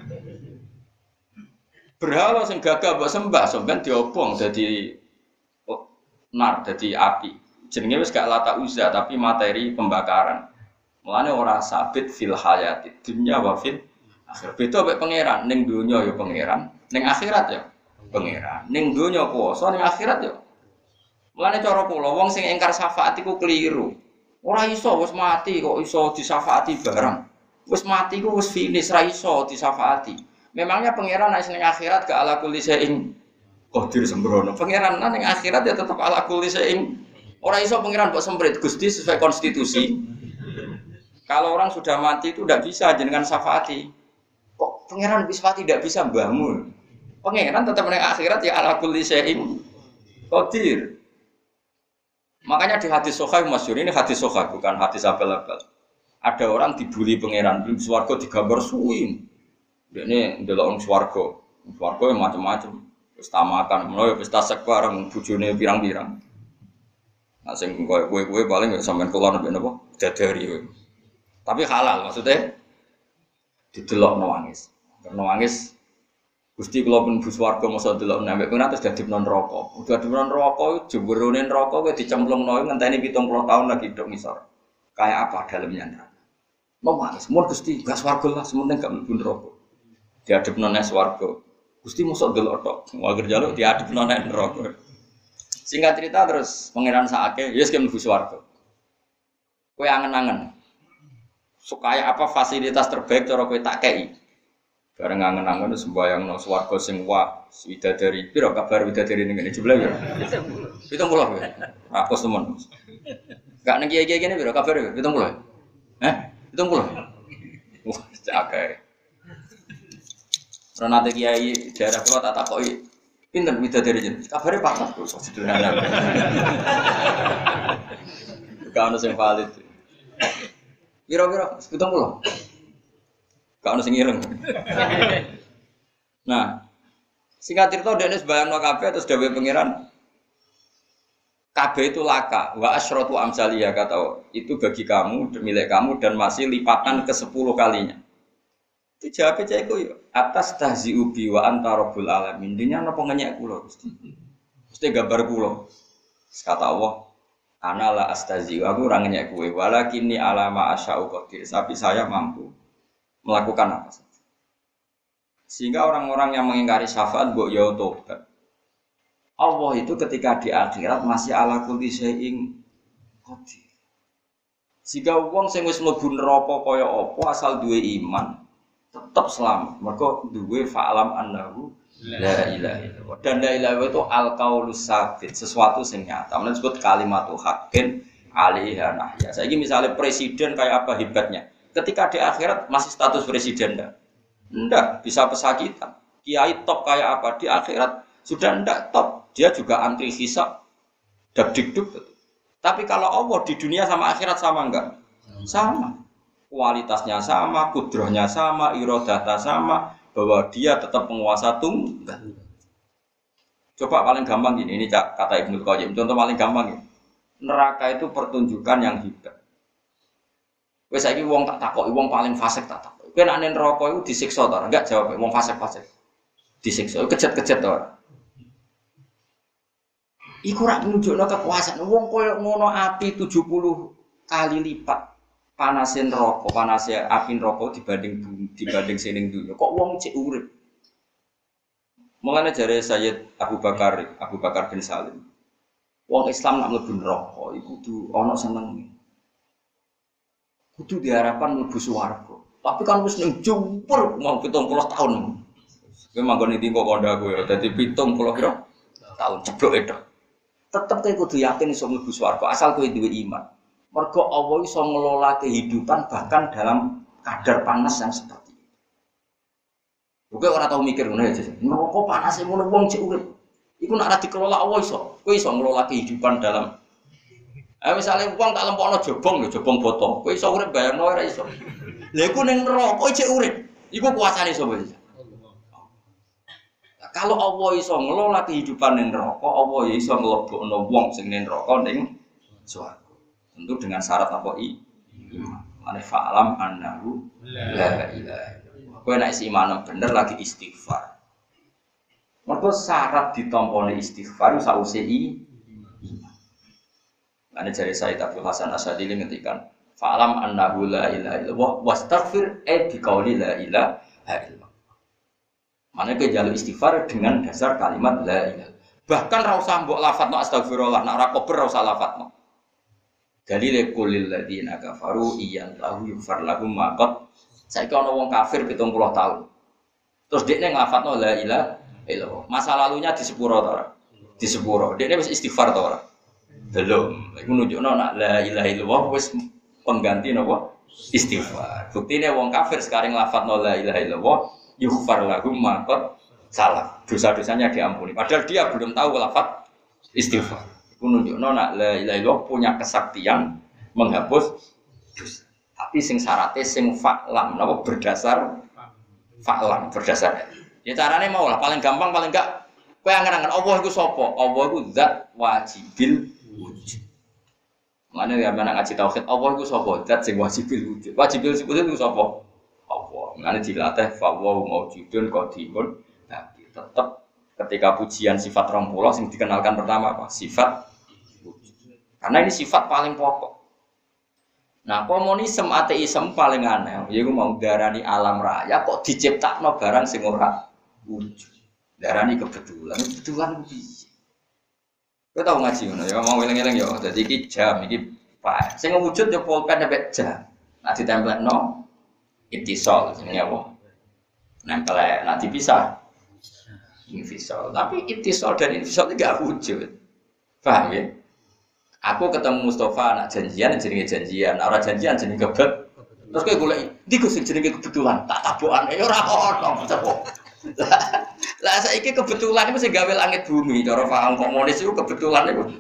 Berhala sing gagah mbok sembah sampean diobong dadi nar dadi api. Jenenge wis gak lata uzza tapi materi pembakaran. Mulane ora sabit fil hayati dunya wa fil akhir. Beda mek pangeran ning donya ya pangeran, ning akhirat ya pangeran. Ning donya kuwasa, ning akhirat ya. Mulane cara kula wong sing ingkar syafaat iku keliru. Ora iso wis mati kok iso disyafaati barang. Wis mati ku wis finish ra iso disyafaati. Memangnya pangeran nek ning akhirat gak ala kulli syai'in qadir sembrono. Pangeran ning akhirat ya tetep ala kulli syai'in. Ora iso pangeran kok semprit Gusti sesuai konstitusi. Kalau orang sudah mati itu tidak bisa jenengan syafaati. Kok pangeran bisa tidak bisa mbahmu? Pangeran tetap ning akhirat ya ala kulli syai'in qadir. Makanya di hadis sahih masyhur ini hadis sahih bukan hadis abal-abal. Ada orang dibuli pangeran di swarga digambar suwi. Dekne ndelok wong swarga. Swarga yang macam-macam. Wis tamakan, menawa wis tasek bareng bojone pirang-pirang. Nah sing kowe paling ya sampean kula nek napa dadari. Tapi halal maksudnya didelok nangis. Karena nangis Gusti kula pun bus warga masa delok nambah kena terus dadi neraka. Udah dadi neraka jemberone neraka kowe dicemplungno ngenteni 70 tahun lagi dok ngisor. Kayak apa dalamnya neraka? Nangis, mun Gusti gas warga lah sementing gak mlebu neraka. Diadepno nang swarga. Gusti mosok delok tok. Wae jaluk diadepno nang neraka. Singkat cerita terus pangeran sakake, ya wis mlebu swarga. Kowe angen-angen. Supaya apa fasilitas terbaik cara kowe tak kei. Bareng angen-angen sembayang nang swarga sing wah widadari. Piro kabar widadari ning ngene jebule ya? 70 ya. Aku temen. Gak ning kiai-kiai kene piro kabar ya? 70. 70. Wah, cakep. Renate kiai daerah kula tak takoki, pinten widadari jeneng? Kabare patah kok sederhana. Gak ono sing valid. Piro-piro 70. Gak ono sing ireng. Nah, singkat cerita dene sembayangno kabeh terus dawuh pangeran kabeh itu laka wa asyratu amsaliyah kata itu bagi kamu milik kamu dan masih lipatan ke-10 kalinya. Dijawab cah iku yo atas tahzi'u bi wa anta rabbul alamin. Dinya napa ngenyek kula Gusti. Gusti gambar kula. Kata Allah, ana la astazi aku ora ngenyek kowe walakinni alama asya'u qadir tapi saya mampu melakukan apa saja. Sehingga orang-orang yang mengingkari syafaat mbok ya tobat. Allah itu ketika di akhirat masih ala kulli syai'in qadir. Jika wong sing wis mlebu neraka kaya apa asal duwe iman, tetep selamat. Mergo duwe fa'alam annahu la ilaha illallah. Dan la ilaha itu al-qaulus sabit, sesuatu sing nyata. Menurut disebut kalimatul haqqin alaiha nahya. Saiki misalnya presiden kayak apa hebatnya? Ketika di akhirat masih status presiden enggak? Enggak, bisa pesakitan. Kiai top kayak apa? Di akhirat sudah enggak top. Dia juga antri hisab. Dak-dik-duk. Tapi kalau Allah di dunia sama akhirat sama enggak? Sama. Kualitasnya sama, kudrohnya sama, irodata sama, bahwa dia tetap penguasa tunggal. Coba paling gampang gini, ini kata Ibnul Qayyim, contoh paling gampang ini. Neraka itu pertunjukan yang hebat. Wes saiki wong tak takoki wong paling fasik tak takoki. Kowe nek neraka iku disiksa ta? Enggak jawab wong fasik-fasik. Disiksa, kejet-kejet ta ora? Iku rak nunjukno kekuasaan wong koyo ngono api 70 kali lipat panase neraka, panase api neraka dibanding sining dunya. Kok wong cek urip? Mulane jare Sayyid Abu Bakar bin Salim. Wong Islam nak mlebu neraka iku kudu ana seneng. Kudu diharapkan mlebu swarga. Tapi kan wis ning jumper mau 70 tahun. Kowe manggon ning kok kandha kowe dadi 70 pira tahun ceblok itu. Tetep kowe kudu yakin iso mlebu swarga asal kowe duwe iman. Mergo Allah iso ngelola kehidupan bahkan dalam kadar panas yang seperti itu. Kowe ora tau mikir ngono ya, neraka panase ngono wong cek urip. Iku nek ora dikelola Allah iso. Kowe iso ngelola kehidupan dalam misalnya wong tak lempokno jobong lho, jobong botol. Kowe iso urip bayangno ora iso. Lha iku ning neraka cek urip. Iku kuasane sapa iki? Kalau Allah iso ngelola kehidupan ning neraka, Allah ya iso nglebokno wong sing ning neraka ning swarga. Tentu dengan syarat apa iman. Mane fa'alam annahu la ilaha illallah. Kowe nek iman bener lagi istighfar. Mergo syarat ditampone istighfar sause iman. Mane jare Sayyid Abdul Hasan Asyadili ngendikan fa'alam annahu la ilaha illallah wastaghfir bi qauli la ilaha illallah. Mane kowe njaluk istighfar dengan dasar kalimat la ilaha. Bahkan ra usah mbok lafadzno astagfirullah, nek ora kober ra usah lafadzno. Dalile kulil ladina kafaru iyan lahu yufar lahum maqat. Saiki ana wong kafir 70 tahun. Terus dekne nglafadzno la ilaha illallah. Masa lalunya disepuro ta ora? Disepuro. Dekne wis istighfar ta ora? Belum. Iku nunjukno nek la ilaha illallah wis pengganti napa? Istighfar. Buktine wong kafir sekarang nglafadzno la ilaha illallah yufar lahum maqat salah. Dosa-dosanya diampuni. Padahal dia belum tahu lafaz istighfar. Menunjukno nak la ilaha illallah punya kesaktian menghapus dosa. Tapi sing syaratnya sing fa'lam napa berdasar fa'lam berdasar. Ya carane mau lah paling gampang paling enggak kowe angen-angen Allah iku sapa? Allah iku zat wajibil wujud. Mane ya menak ngaji tauhid Allah iku sapa? Zat sing wajibil wujud. Wajibil wujud iku sapa? Allah. Mane dilatih fa wa maujudun qadimun. Tapi tetap ketika pujian sifat 20 sing dikenalkan pertama apa? Sifat wujud. Karena ini sifat paling pokok. Nah, komunisme ateisme paling aneh. Yaiku mau darani alam raya kok diciptakno barang sing ora wujud. Darani kebetulan. Kebetulan piye? Kowe tau ngaji ngono ya, mau eling-eling ya. Dadi iki jam iki Pak. Sing wujud ya pulpen sampai jam. Nah ditempelno ittisal jenenge apa? Nempel nah dipisah. Infisal. Tapi ittisal dan infisal itu gak wujud. Paham ya? Aku ketemu Mustafa anak janjian jenenge janjian, ora janjian jenenge kebet. Terus kowe golek ndi Gus sing jenenge kebetulan, tak tabokan ora ono. Lah saiki kebetulan iku sing gawe langit bumi, cara paham komunis iku kebetulan iku.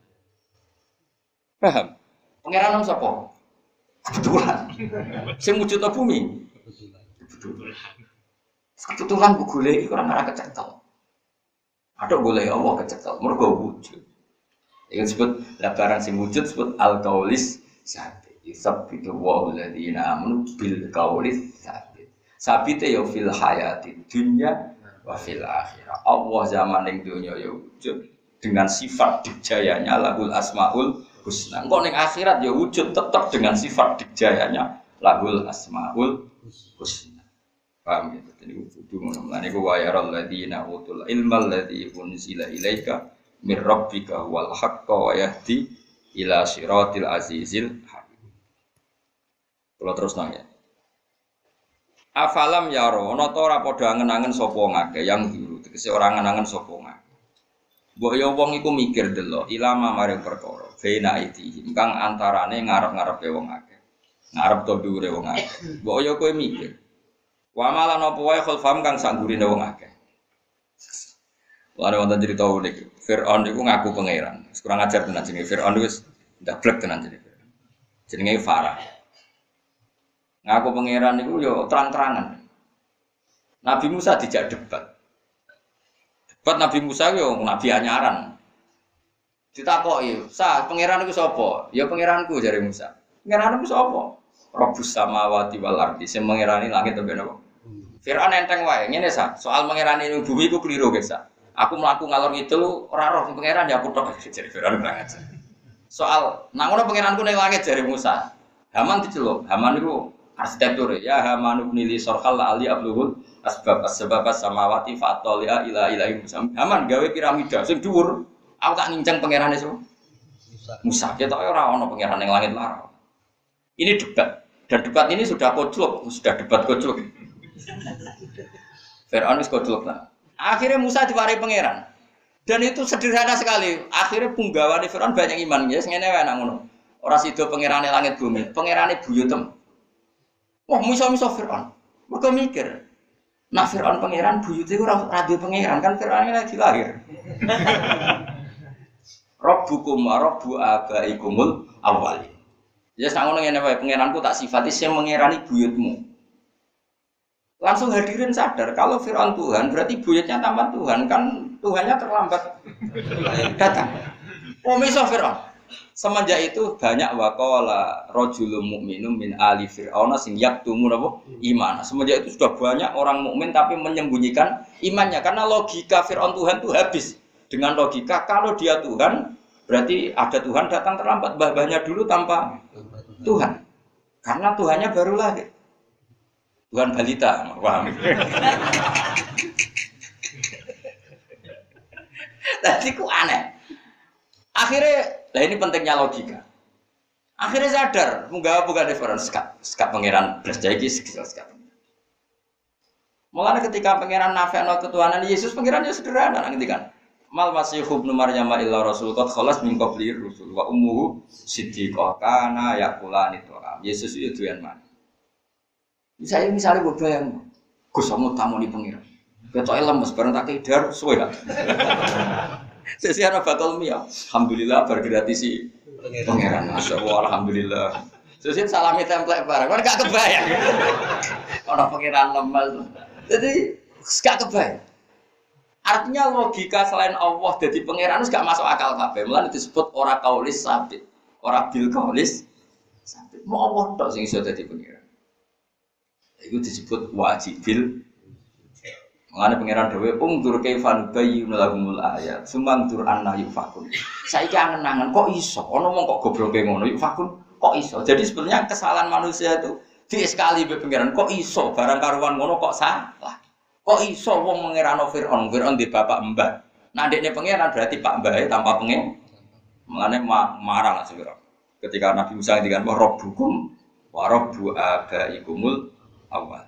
Paham? Pangeran sapa? Kebetulan. Sing wujudna bumi. Kebetulan. Kebetulan ku golek iki ora kecekel. Ada golek Allah kecekel, mergo wujud. Ini disebut barang sing wujud disebut al-qaulis sabit. Yusabbitu wa alladziina amanu bil qaulis sabit. Sabite ya fil hayati dunya wa fil akhirah. Allah zaman ning dunya ya wujud dengan sifat dijayanya lahul asmaul husna. Engko ning akhirat ya wujud tetap dengan sifat dijayanya lahul asmaul husna. Paham ya? Jadi kudu ngono. Lan iku wa yaral ladzina utul ilmal ladzi unzila ilaika mir rabbika wal haqqo wa yahdi ila siratil azizil hamid. Kalau terus nanya. Afalam yaro, ana ta ora padha angen-angen sapa ngake yang diru, tegese ora angen-angen sapa ngake. Mbok ya wong iku mikir delok ilama maring perkara, bena iki, kang antarane ngarep-ngarepe wong akeh. Ngarep to dhuwure wong akeh. Mbok ya kowe mikir. Wa malan apa wae khulfam kang sak gurine wong akeh. Lare wonten cerita unik. Firaun iku ngaku pangeran. Kurang ajar tenan jenenge Firaun wis ndablek tenan jenenge. Jenenge Farah. Ngaku pangeran itu yo terang-terangan. Nabi Musa dijak debat. Debat Nabi Musa yo nabi anyaran. Ditakoki, "Sa, pangeran iku sapa?" "Ya pangeranku," jare Musa. "Pangeranku sapa?" "Rabbus samawati wal ardi," sing mengerani langit sampe napa. Firaun enteng wae, ngene sa, soal mengerani ning bumi iku kliru ge sa. Aku mlaku ngalor ngidul ora roh pangeran ya aku tok jare Firaun ora aja. Soal nang ngono pangeranku ning langit jare Musa. Haman diceluk, Haman iku arsitektur ya Hamanu nili sorhal ali abluhul asbab samawati fatolia ila ilahi Musa. Haman gawe piramida sing dhuwur. Aku tak nincang pangerane so. Musa ketok ora ana pangeran ning langit lara. Ini debat dan debat ini sudah koclok, sudah debat koclok. Firaun wis koclok lah. Akhirnya Musa diwarai pangeran. Dan itu sederhana sekali. Akhirnya punggawane Firaun banyak iman ya sing ngene wae nang ngono. Ora sida pangerane langit bumi, pangerane buyutem. Wah, miso-miso Fir'aun. Mereka mikir, nah Fir'aun pangeran, buyut itu radio pangeran, kan Fir'aun lagi lahir. Rabbukum wa rabbu abaikumul awwalin. Ya sangono ngene wae, pangeranku tak sifati sing mengerani buyutmu. Langsung hadirin sadar, kalau Fir'aun Tuhan, berarti buyutnya tambah Tuhan, kan Tuhannya terlambat datang. Oh, miso Fir'aun. Semenjak itu banyak waqala rajulun mu'minun min ali fir'auna sing yaktumu napa iman. Semenjak itu sudah banyak orang mukmin tapi menyembunyikan imannya karena logika Fir'aun Tuhan itu habis. Dengan logika kalau dia Tuhan berarti ada Tuhan datang terlambat, mbah-mbahnya dulu tanpa Tuhan. Karena Tuhannya baru lahir. Tuhan balita, paham? Tadi ku aneh. Akhirnya, lah ini pentingnya logika. Akhirnya sadar, munggah bukan difference sekat pangeran belas jaiki sekat. Mulanya ketika pangeran nafekno ketuhanan Yesus, pangeran ya sederhana nanti kan. Mal masih ibnu Maryam illa rasul qad khalas min qabli rusul wa ummuhu siddiqah kana yaqulani tu'am. Yesus itu tujuan mana? Misalnya gue bayang, Gus kamu tamu di pangeran. Ketok lemes bareng tak kidar suwe kan. Sesiana bakal mia. Alhamdulillah bergratisi pangeran. Masyaallah alhamdulillah. Sesin salami template bareng. Kan gak kebayang. Ono pangeran lemes. Jadi gak kebayang. Artinya logika selain Allah jadi pangeran itu gak masuk akal kabeh. Mulane disebut ora kaulis sabit. Ora bil kaulis sabit. Mau Allah tok sing iso dadi pangeran. Itu disebut wajibil. Mengenai pangeran dewe, tur kaifan bayi melagumul ayat, sumantur anna yufakun. Saya angen-angen kok iso, ono mong kok gobloke ngono yufakun, kok iso. Jadi sebenarnya kesalahan manusia itu di sekali be pangeran kok iso, barang karuan ngono kok salah. Kok iso wong mengerano Fir'aun di bapak mbah. Nah dekne pangeran berarti pak mbahe tanpa pengen. Mengenai marah lah Fir'aun. Ketika Nabi Musa ngendikan wa rabbukum wa rabbu abaikumul awwal.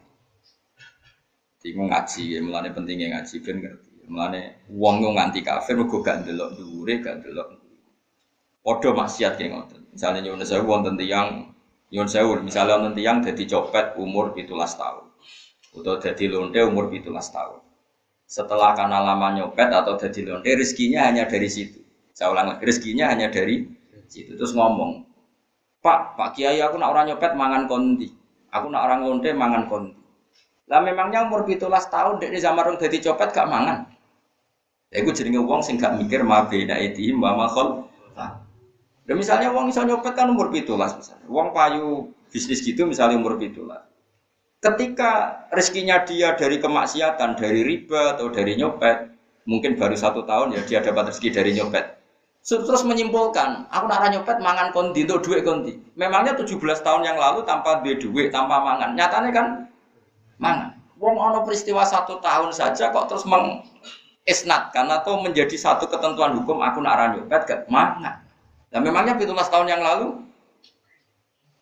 Iku ngaji, mulane pentingnya ngaji ben ngerti. Mulane wong yo nganti kafir mergo gak ndelok dhuwure, gak ndelok. Padha maksiat ki ngoten. Misale nyuwun sewu wonten tiyang nyuwun sewu, misale wonten tiyang dadi copet umur 17 tahun. Utawa dadi lonte umur 17 tahun. Setelah karena lama nyopet atau dadi lonte rezekinya hanya dari situ. Saya ulang lagi, rezekinya hanya dari situ. Terus ngomong, Pak Kiai aku nak orang nyopet mangan kondi. Aku nak orang lonte mangan kondi. Lah memangnya umur 17 tahun dek zaman rong dadi copet gak mangan. Ya iku jenenge wong sing gak mikir mabena idhim wa makhol. Lah misalnya wong iso nyopet kan umur 17 misalnya. Wong payu bisnis gitu misalnya umur 17. Ketika rezekinya dia dari kemaksiatan, dari riba atau dari nyopet, mungkin baru 1 tahun ya dia dapat rezeki dari nyopet. Terus menyimpulkan, aku nak nyopet mangan kondi untuk duit kondi. Memangnya 17 tahun yang lalu tanpa duit, tanpa mangan. Nyatanya kan mangan. Wong ono peristiwa 1 tahun saja kok terus mengisnatkan atau menjadi satu ketentuan hukum aku nak nyopet gak mangan. Nah memangnya 17 tahun yang lalu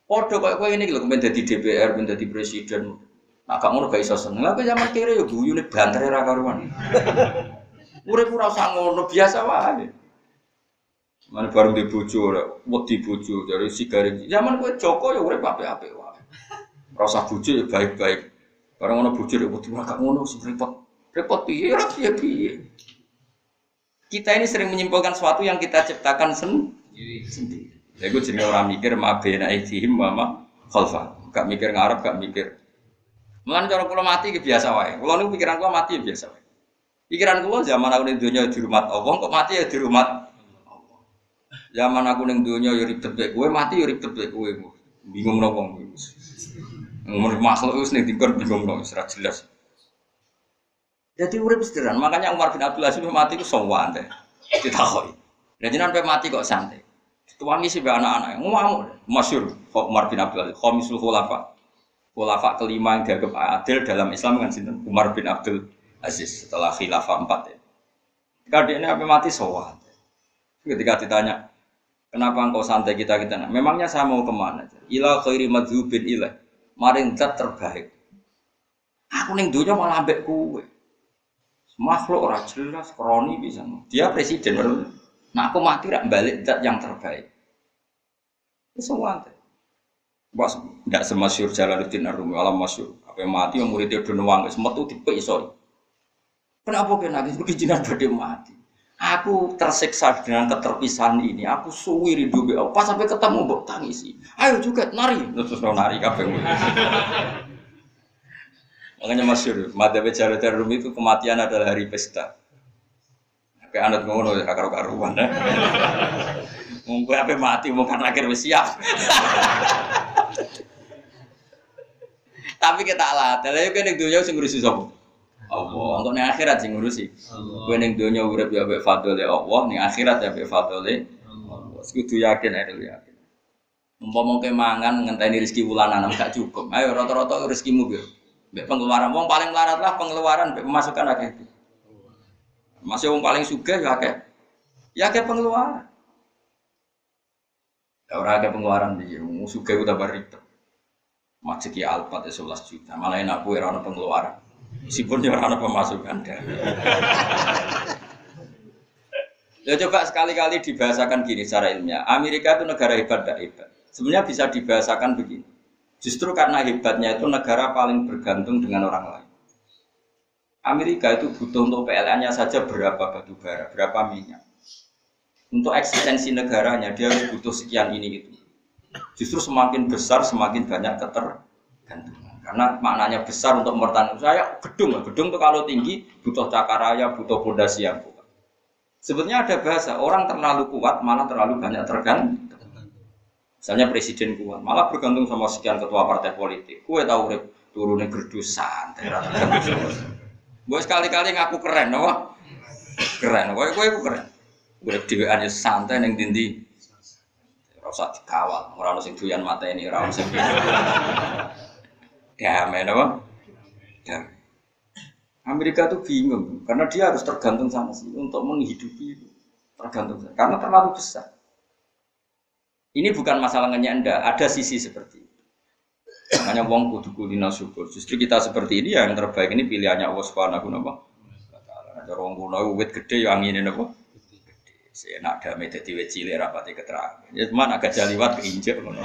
Padha koyo kowe ngene iki lho kemen dadi DPR, kemen dadi presiden. Nah, gak ngono gak iso seneng. Lah zaman kere yo guyune bantere ra karuan. Urip ora usah ngono, biasa wae. Mane bareng di bojo ora, wedi bojo dari sigare. Zaman kowe Joko ya urip apik-apik wae. Ora usah bojo ya baik-baik. Bareng ono bojo ya wedi gak ngono sing repot. Repot piye ora piye-piye. Kita ini sering menyimpulkan sesuatu yang kita ciptakan sendiri. Ya gue jenenge ora mikir mabena aidihim wa ma khalfa. Gak mikir ngarep, gak mikir. Mulane cara kula mati ki biasa wae. Kula niku pikiran kula mati ya biasa wae. Pikiran kula zaman aku ning donya dirumah Allah, kok mati ya dirumah Allah. Zaman aku ning donya ya ribet mek kowe, mati ya ribet mek kowe. Bingung nang wong iki. Ngomong makhluk wis ning dingkon bingung nang ora jelas. Jadi urip sederhana, makanya Umar bin Abdul Aziz mati ku sowan teh. Ditakoki. Lah jenengan pe mati kok santai. Tuangi sih anak-anak, ngamuk, masyhur Umar bin Abdul Aziz, khamisul khulafa. Khulafa kelima yang dianggap adil dalam Islam kan sinten? Umar bin Abdul Aziz setelah khilafah 4 ya. Ketika dia apa mati sowan. Ketika ditanya, kenapa engkau santai kita? Memangnya saya mau kemana? Ila khairi madzubin ilah. Maring zat terbaik. Aku ning donya malah ambek kowe. Makhluk ora jelas, kroni bisa. Dia presiden baru. Nah aku mati rak balik zat yang terbaik. Sowan. Bos, tidak semasyur Jalaluddin Ar-Rumi alam masyur. Apa yang mati yang muridnya udah nuang, semua tuh tipe isoi. Kenapa kena nangis? Kejinan pada mati. Aku tersiksa dengan keterpisahan ini. Aku suwi rindu be. Pas sampai ketemu mbok tangisi. Ayo juga nari. Terus nari kabeh. Makanya masyur. Madzhab Jalaluddin Ar-Rumi itu kematian adalah hari pesta. Kayak anut ngono ya karo-karuan. Mungkin apa mati mungkin akhir wis siap. Tapi kita lah, tapi kan yang dunia sing ngurusi sapa? Allah. Untuk ning akhirat sing ngurusi. Kowe ning dunia urip ya mbek fadhole Allah, ning akhirat ya mbek fadhole Allah. Kudu yakin ae yakin. Umpama kowe mangan ngenteni rezeki wulanan gak cukup. Ayo rata-rata rezekimu piye? Mbek pengeluaran wong paling melarat lah pengeluaran mbek pemasukan akeh. Masih wong paling sugih ya akeh. Ya akeh pengeluaran. Ora akeh pengeluaran iki, wong sugih udah ribet. Majeki Alphard 11 juta, malah enak kowe ora ono pengeluaran. Meskipun dia ora ono pemasukan. Ya coba sekali-kali dibahasakan gini secara ilmiah. Amerika itu negara hebat enggak hebat? Sebenarnya bisa dibahasakan begini. Justru karena hebatnya itu negara paling bergantung dengan orang lain. Amerika itu butuh untuk PLN-nya saja berapa batu bara, berapa minyak. Untuk eksistensi negaranya dia harus butuh sekian ini gitu. Justru semakin besar semakin banyak ketergantungan. Karena maknanya besar untuk mempertahankan saya gedung itu kalau tinggi butuh cakaraya, butuh fondasi yang kuat. Sebetulnya ada bahasa orang terlalu kuat malah terlalu banyak tergantung. Misalnya presiden kuat malah bergantung sama sekian ketua partai politik. Kue tahu turunnya gerdusan, gue sekali-kali ngaku keren, apa? Keren, gue keren. Gue dewean ya santai neng dindi. Rasa dikawal, orang sing doyan mata ini, orang sing damai, apa? Damai. Amerika tuh bingung, karena dia harus tergantung sama sih untuk menghidupi itu. Tergantung, karena terlalu besar. Ini bukan masalah ngenyanda, ada sisi seperti itu. Makanya wong kudu kulina syukur. Justru kita seperti ini yang terbaik ini pilihannya Allah Subhanahu wa taala. Ada wong kuno wit gede yo angine napa? Enak damai dadi wit cilik rapati keterangan. Ya cuman agak jaliwat keinjek ngono.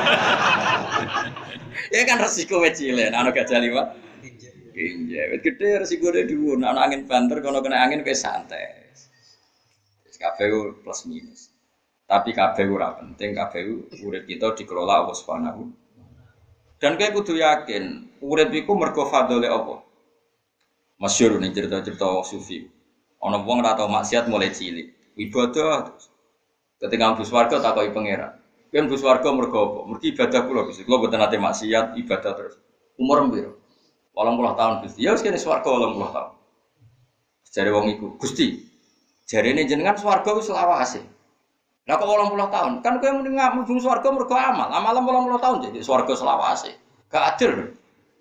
Ya kan resiko wit cilik, ana gak jaliwat keinjek. Wit gede resikone dhuwur, ana angin banter kono kena angin wis santai. Wis kabeh plus minus. Tapi kabeh ora penting, kabeh urip kita dikelola Allah Subhanahu. Dan kowe kudu yakin, urip iku mergo fadhole Allah. Masyhur ning cerita-cerita sufi. Ana wong ora tau maksiat mulai cilik. Ibadah terus. Ketika mlebu swarga takoki pangeran. Kowe mlebu swarga mergo apa? Mergo ibadah kula Gusti. Kula mboten nate maksiat, ibadah terus. Umur piro? 80 tahun Gusti. Ya wis kene swarga 80 tahun. Jare wong iku, Gusti. Jarene jenengan swarga wis lawase. Lah kok 80 tahun? Kan kowe muni mlebu swarga mergo amal. Amalan 80 tahun jadi swarga selawase. Gak adil.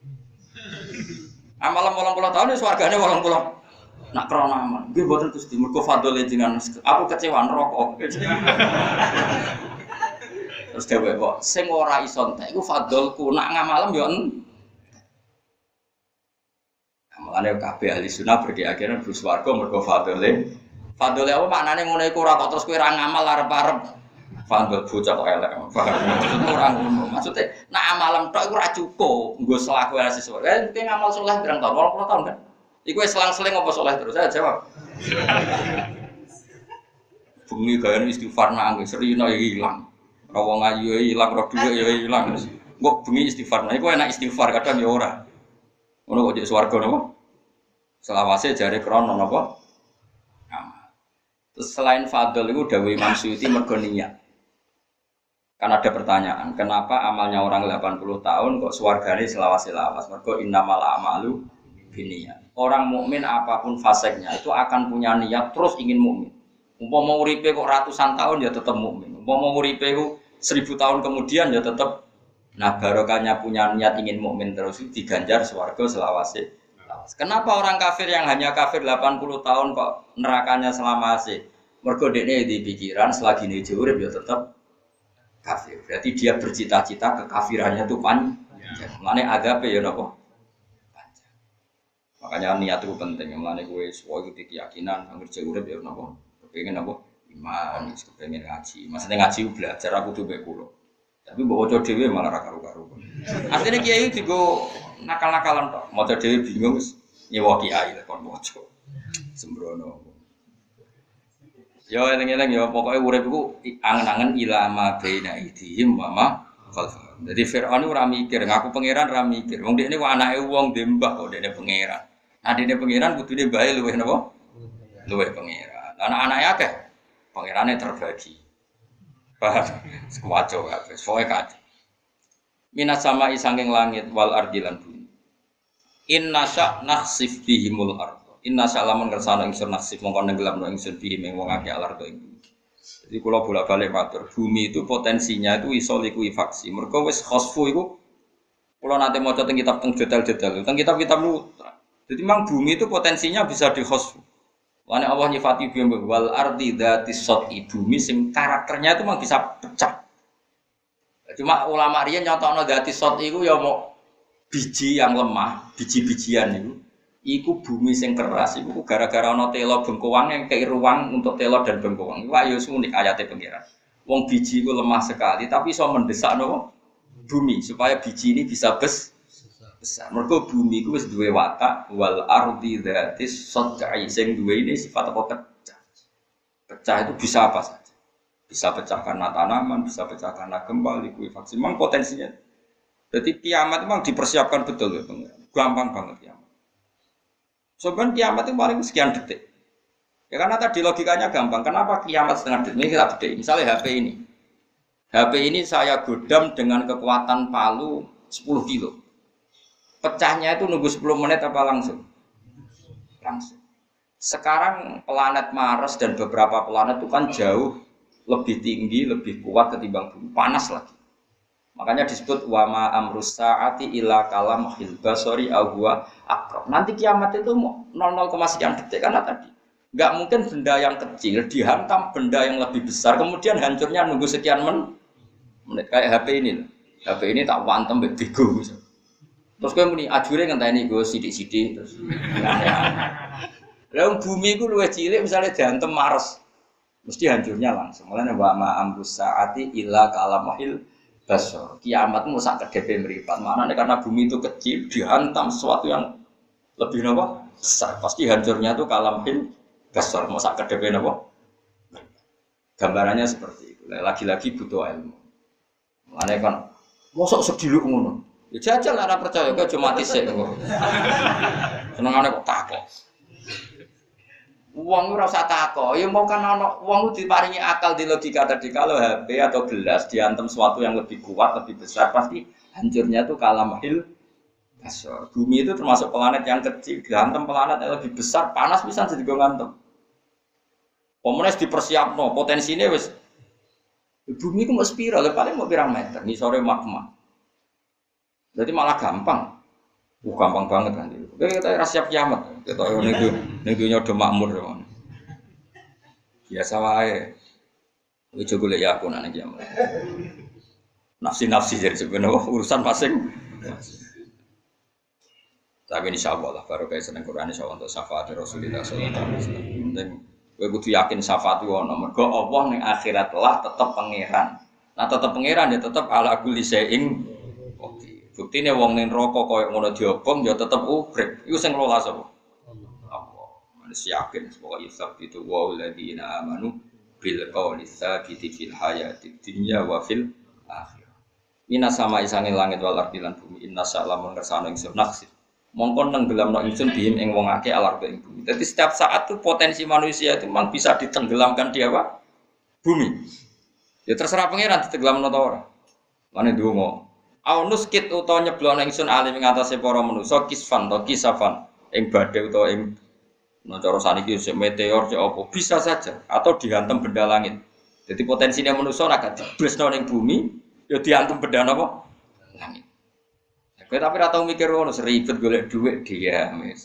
Amalan 80 tahun ya swargane 80. Nak krana aman, nggih mboten Gusti, mergo fadhole jenengan aku kecewa neraka. Terus dhewe kok sing ora iso entek iku fadolku nak ngamalem yo entek. Mulane kabeh ahli sunnah berkeyakinan bus warga mergo fadole. Fadole apa maknane ngono iku ora kok terus kowe ora ngamal arep-arep. Fadol bocah kok elek. Maksudnya ora ngono. Maksudnya nak amalem tok iku ora cukup. Nggo selaku ora sesuai. Kowe ngamal saleh pirang tahun? 20 tahun kan? Iku wis selang-seling apa saleh terus? Saya jawab. Bengi gawe istighfar nang serina ya ilang. Ora wong ayu ya ilang, ora dhuwit ya ilang. Kok bengi istighfar. Nah iku enak istighfar kadang ya ora. Ngono kok jek swarga napa? Selawase jare krono napa? Amal. Terus selain fadl itu dawuh Imam Suyuti mergo niat. Kan ada pertanyaan, kenapa amalnya orang 80 tahun kok swargane selawase-lawas? Mergo innamal a'malu binniyat. Orang mukmin apapun faseknya itu akan punya niat terus ingin mukmin. Umpama uripe kok ratusan tahun ya tetap mukmin. Umpama uripe ku 1000 tahun kemudian ya tetap. Nah barokahnya punya niat ingin mukmin terus itu diganjar swarga selawase. Kenapa orang kafir yang hanya kafir 80 tahun kok nerakanya selawase? Mergo dekne di pikiran selagi ini urip ya tetap kafir. Berarti dia bercita-cita kekafirannya itu panjang. Mulane adabe ya napa? Panjang. Makanya niat itu penting. Mulane kowe suwe iki keyakinan anggere urip ya napa? Kepengin apa? Iman, kepengin ngaji. Maksudnya ngaji belajar aku tuh mbek kula. Tapi mbok waca dhewe malah ra karo-karo. Asline kiai digo nakal-nakalan tok. Maca dhewe bingung wis nyewa kiai lek kon waca. Sembrono. Ya eling-eling ya pokoke urip iku angen-angen ilama baina idhim wa ma khalfahum. Dadi Firaun ora mikir, ngaku pangeran ora mikir. Wong dekne kok anake wong dembah kok dekne pangeran. Nah dekne pangeran kudune bae luwih napa? Luwih pangeran. Anak-anake akeh. Pangerane terbagi. Paham? Sekuwaco kabeh. Soe kabeh. Minas sama isanging langit wal ardilan bumi. Inna sya nakhsif bihimul ardh. Inna sya lamun kersane ingsun nakhsif mongko nenggelamno ingsun bihim ing wong akeh alardo ing bumi. Jadi kula bolak-balik matur, bumi itu potensinya itu iso likuifaksi. Mergo wis khosfu iku kula nate maca teng kitab teng jadal-jadal, teng kitab-kitab lu. Jadi memang bumi itu potensinya bisa dikhosfu. Wane Allah nyifati bumi wal ardi dzatis sati bumi sing karakternya itu memang bisa pecah. Cuma ulama riyen nyontokno dzatis sati iku ya mau biji yang lemah, biji-bijian itu. Iku bumi sing keras iku gara-gara ana tela bengkoang yang kei ruang untuk tela dan bengkoang. Iku ayo unik ayate pengiran. Wong biji iku lemah sekali tapi iso mendesak no bumi supaya biji ini bisa besar. Mergo bumi iku wis duwe watak wal ardi dzatis sati sing duwe ini sifat apa pecah. Pecah itu bisa apa saja. Bisa pecah karena tanaman, bisa pecah karena gempa, likuifaksi. Memang potensinya. Jadi kiamat memang dipersiapkan betul ya, gampang banget kiamat. Sebenarnya kiamat itu paling sekian detik. Ya karena tadi logikanya gampang. Kenapa kiamat setengah detik? Ini kita detik. Misalnya HP ini. HP ini saya godam dengan kekuatan palu 10 kilo. Pecahnya itu nunggu 10 menit apa langsung? Langsung. Sekarang planet Mars dan beberapa planet itu kan jauh lebih tinggi, lebih kuat ketimbang bumi. Panas lagi. Makanya disebut wama amrus saati ila kalam hilbasori ahwa akrob. Nanti kiamat itu 0, sekian detik karena tadi. Enggak mungkin benda yang kecil dihantam benda yang lebih besar kemudian hancurnya nunggu sekian menit. Kayak HP ini. HP ini tak wantem mbek bego misalnya. Terus kowe muni ajure ngenteni go sithik-sithik terus. Lah bumi iku luwih cilik misalnya diantem Mars. Mesti hancurnya langsung. Mulane wa ma amrus saati illa kalamahil basar. Kiamat mu sak kedepe mripat. Manane karena bumi itu kecil dihantam sesuatu yang lebih napa? Besar. Pasti hancurnya itu kalamahil basar. Mu sak kedepe napa? Gambarannya seperti itu. Lagi-lagi butuh ilmu. Mulane kan mosok sediluk ngono. Ya jajal ora percaya kok cuma tisik kok. Senengane kok takok. Wong ora usah takok, ya mau kan ana wong diparingi akal di logika tadi kalau HP atau gelas diantem sesuatu yang lebih kuat, lebih besar pasti hancurnya tuh kalamahil basar. Bumi itu termasuk planet yang kecil, diantem planet yang lebih besar, panas bisa jadi ngantem. Pemenes dipersiapno, potensine wis bumi ku mau spiral, paling mau pirang meter, ngisore magma. Jadi malah gampang. Gampang banget kan itu. Kita ora siap kiamat. Kita ning dunya do makmur ya. Biasa wae. Ojo golek ya aku nang kiamat. nafsi jadi sebenarnya urusan masing. Tapi insyaallah lah baru kayak seneng Quran insyaallah untuk syafaat Rasulullah sallallahu alaihi wasallam. Penting kowe kudu yakin syafaat iku ono. Mergo Allah ning akhirat lah tetep pangeran. Nah tetep pangeran ya tetep ala kulli syai'in qadir. Buktine wong ning neraka koyo ngono diobong ya tetep urip. Iku sing ngelola sapa? Allah. Manis yakin pokoke isab itu wa alladziina amanu bil qawli tsabiti fil hayatid dunya wa fil akhirah. Minas sama isange langit wal ardi lan bumi inna sa'lamun kersane ingsun naksir. Mongkon nang gelamno ingsun bihim ing wong akeh alar ing bumi. Jadi setiap saat tuh potensi manusia itu memang bisa ditenggelamkan di apa? Bumi. Ya terserah pangeran ditenggelamno ta ora. Mane ndonga. Au nuskit utawa nyeblokno ingsun alim ing atase para manusa kisfan to kisafan ing badhe utawa ing cara saniki meteor cek apa bisa saja atau dihantam benda langit. Jadi potensinya manusia nek diblesno ning bumi ya dihantam benda napa? Langit. Kowe tapi ora tau mikir ngono, seribet golek dhuwit dia wis.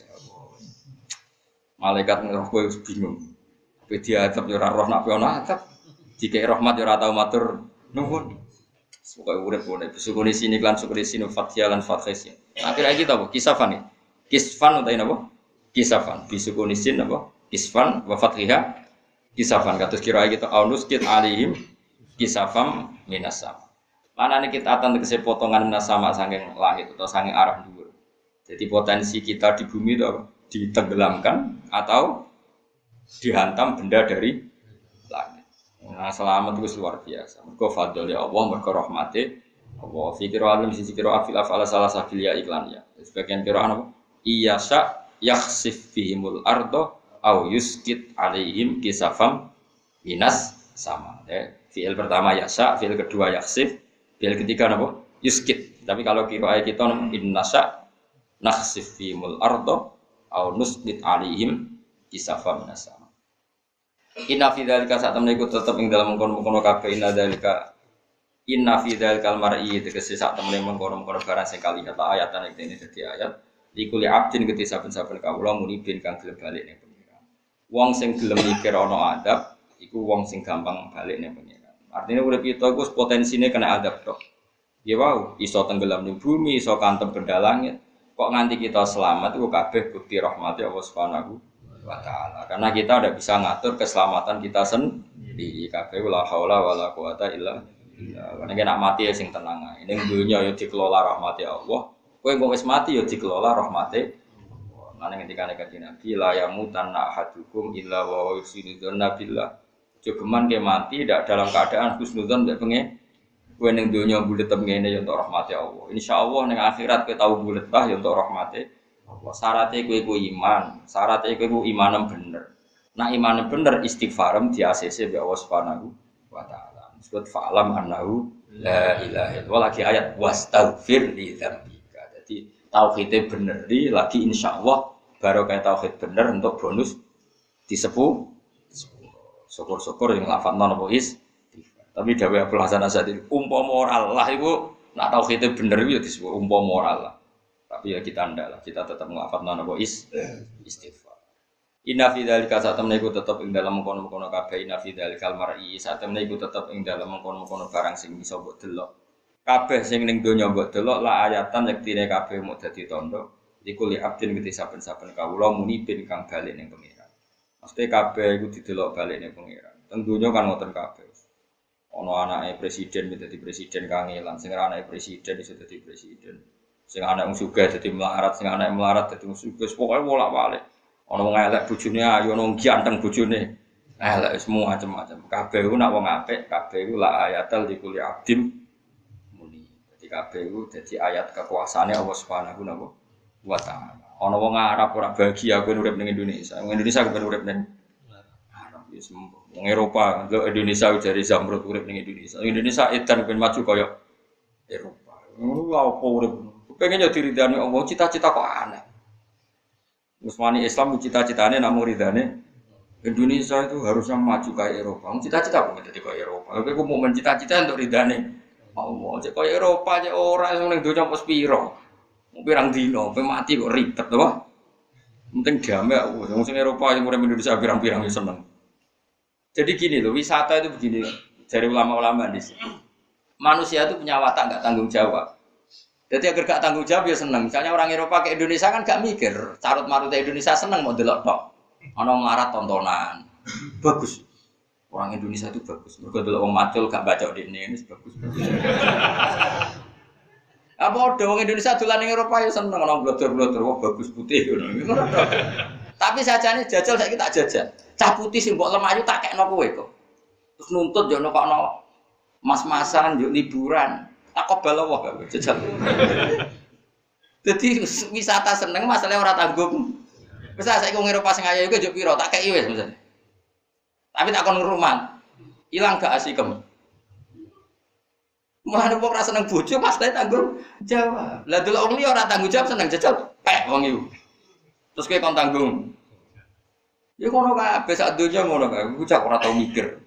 Malaikat ngeroh kowe wis bingung. Kowe diadab ya ora roh nek ana adab. Dikek rahmat ya ora tau matur nuwun. Pokoke urip-urip besukune sini lan sukune sini Fathia lan Fathis. Akhire iki ta apa? Kisafan iki. Kisfan utawa napa? Kisafan. Bisukune sin apa? Kisfan wa Fathiha. Kisafan kados kira iki ta aunus kit alihim kisafam minasam. Mana nih kita akan tegese potongan sama saking langit atau saking arah dhuwur. Jadi potensi kita di bumi itu ditenggelamkan atau dihantam benda dari langit. Nah, selamat itu luar biasa. Mergo fadl ya Allah, mergo rahmate Allah. Fikir alim sisi kira afil afala salah sabil ya iklan ya. Sebagian kira apa? Iyasa yakhsif bihimul ardo au yuskit alaihim kisafam minas sama. Fiil pertama yasa, fiil kedua yakhsif. Fiil ketiga apa? Yuskit. Tapi kalau kira kita innasa nakhsif fimul ardo au nusqit alaihim kisafa minasama. Inna fi dzalika saat temen iku tetep ing dalam mengkono-mengkono kabeh inna fi dzalikal mar'i tegese sak temen mengkono-mengkono barang sing kali kata ayatan iki dene dadi ayat likuli abdin gede saben-saben kawula munibin kang gelem balik ning pengiran. Wong sing gelem mikir ana adab iku wong sing gampang balik ning pengiran. Artinya urip kita iku potensine kena adab tok. Ya wow, iso tenggelam ning bumi, iso kantem benda langit. Kok nganti kita selamat iku kabeh bukti rahmati Allah Subhanahu wa taala. Karena kita udah bisa ngatur keselamatan kita sendiri. Kabeh la haula wala quwata illa billah. Karena nek mati ya sing tenang ae. Ning donya ya dikelola rahmati Allah. Kowe engko wis mati ya dikelola rahmati Allah. Nang ngendikane kanjeng Nabi la yamutanna ahadukum illa wa yusidudzanna billah. Jogeman ke mati tidak dalam keadaan husnudzon mbek pengen kowe ning donya bulet ngene ya untuk rahmati Allah. Insyaallah ning akhirat kowe tau bulet bah ya untuk rahmati Allah. Syaratnya kowe iman, syaratnya kowe imanem bener. Nah imanem bener istighfarem di ACC mbek Allah Subhanahu wa taala. Disebut fa'lam annahu la ilaha illallah lagi ayat wastaghfir li dzambika. Jadi tauhidnya bener lagi insyaallah baru kayak tauhid bener untuk bonus disebut syukur-syukur yang lafadzna napa is. Tapi dawuh Abdul Hasan Asy'ari umpama Allah iku nak tauhide bener ya disebut umpama Allah. Tapi ya kita ndak lah, kita tetap nglafadzna napa is istighfar. Inna fi dzalika satamna iku tetep ing dalem mengkono-mengkono kabeh inna fi dzalikal mar'i satamna iku tetep ing dalem mengkono-mengkono barang sing bisa mbok delok. Kabeh sing ning donya mbok delok la ayatan yektine kabeh mung dadi tandha iku li abdin gede saben-saben kawula munibin kang bali ning pengiran. Mesti kabeh iku didelok balik ning pengiran. Tentunya kan ngoten kabeh. Ana anake presiden dadi presiden kangelan, sing anake presiden iso dadi presiden. Sing anak wong sugih dadi melarat, sing anak melarat dadi wong sugih. Pokoke bolak-balik. Ana wong elek bojone ayu, ana wong ganteng bojone. Elek semua macam-macam. Kabeh iku nak wong apik, kabeh iku la ayatal likuli abdim muni. Dadi kabeh iku dadi ayat kekuasaane Allah Subhanahu wa taala. Ana wong Arab ora bahagia kowe urip ning Indonesia. Wong Indonesia kepen urip ning Arab ya sembuh. Wong Eropa, ndelok Indonesia jare Zamrud urip ning Indonesia. Indonesia edan ben maju kaya Eropa. Ngono apa urip. Pengen yo diridani Allah, cita-cita kok aneh. Musmani Islam cita-citane namung ridane Indonesia itu harusnya maju kayak Eropa. Cita-cita kok dadi kaya Eropa. Kowe kok mau mencita-cita untuk ridane Allah. Cek kaya Eropa cek ora sing ning donya apa piro. Pirang dino, mati kok ribet to. Penting damai aku. Wong sing Eropa sing urip Indonesia pirang-pirang ya seneng. Jadi gini loh, wisata itu begini. Dari ulama-ulama di sini. Manusia itu punya watak nggak tanggung jawab. Jadi agar gak tanggung jawab ya seneng. Misalnya orang Eropa ke Indonesia kan gak mikir. Carut marut Indonesia seneng mau delok tok. Ono melarat tontonan. Bagus. Orang Indonesia itu bagus. Mergo delok wong macul gak baca dene ini bagus. Apa ada wong Indonesia dolan ning Eropa ya seneng ono blodor-blodor wah bagus putih ngono. Tapi sajane jajal saiki tak jajal. Cah putih sing mbok lemayu tak kekno kowe kok. Terus nuntut yo nekokno mas-masan yo liburan. Tak kobal Allah gak jajal. Jadi wisata seneng masalahnya orang tanggung. Misal saya ngomong Eropa sing ayu juga piro tak kei wis misalnya. Tapi tak kon rumah. Hilang gak asikem. Mulane wong ra seneng bojo pasti tanggung jawab. Lah delok wong liya ora tanggung jawab seneng jajal pek wong iku. Terus kowe kon tanggung. Ya ngono kabeh sak donya ngono kae. Ku cak ora tau mikir.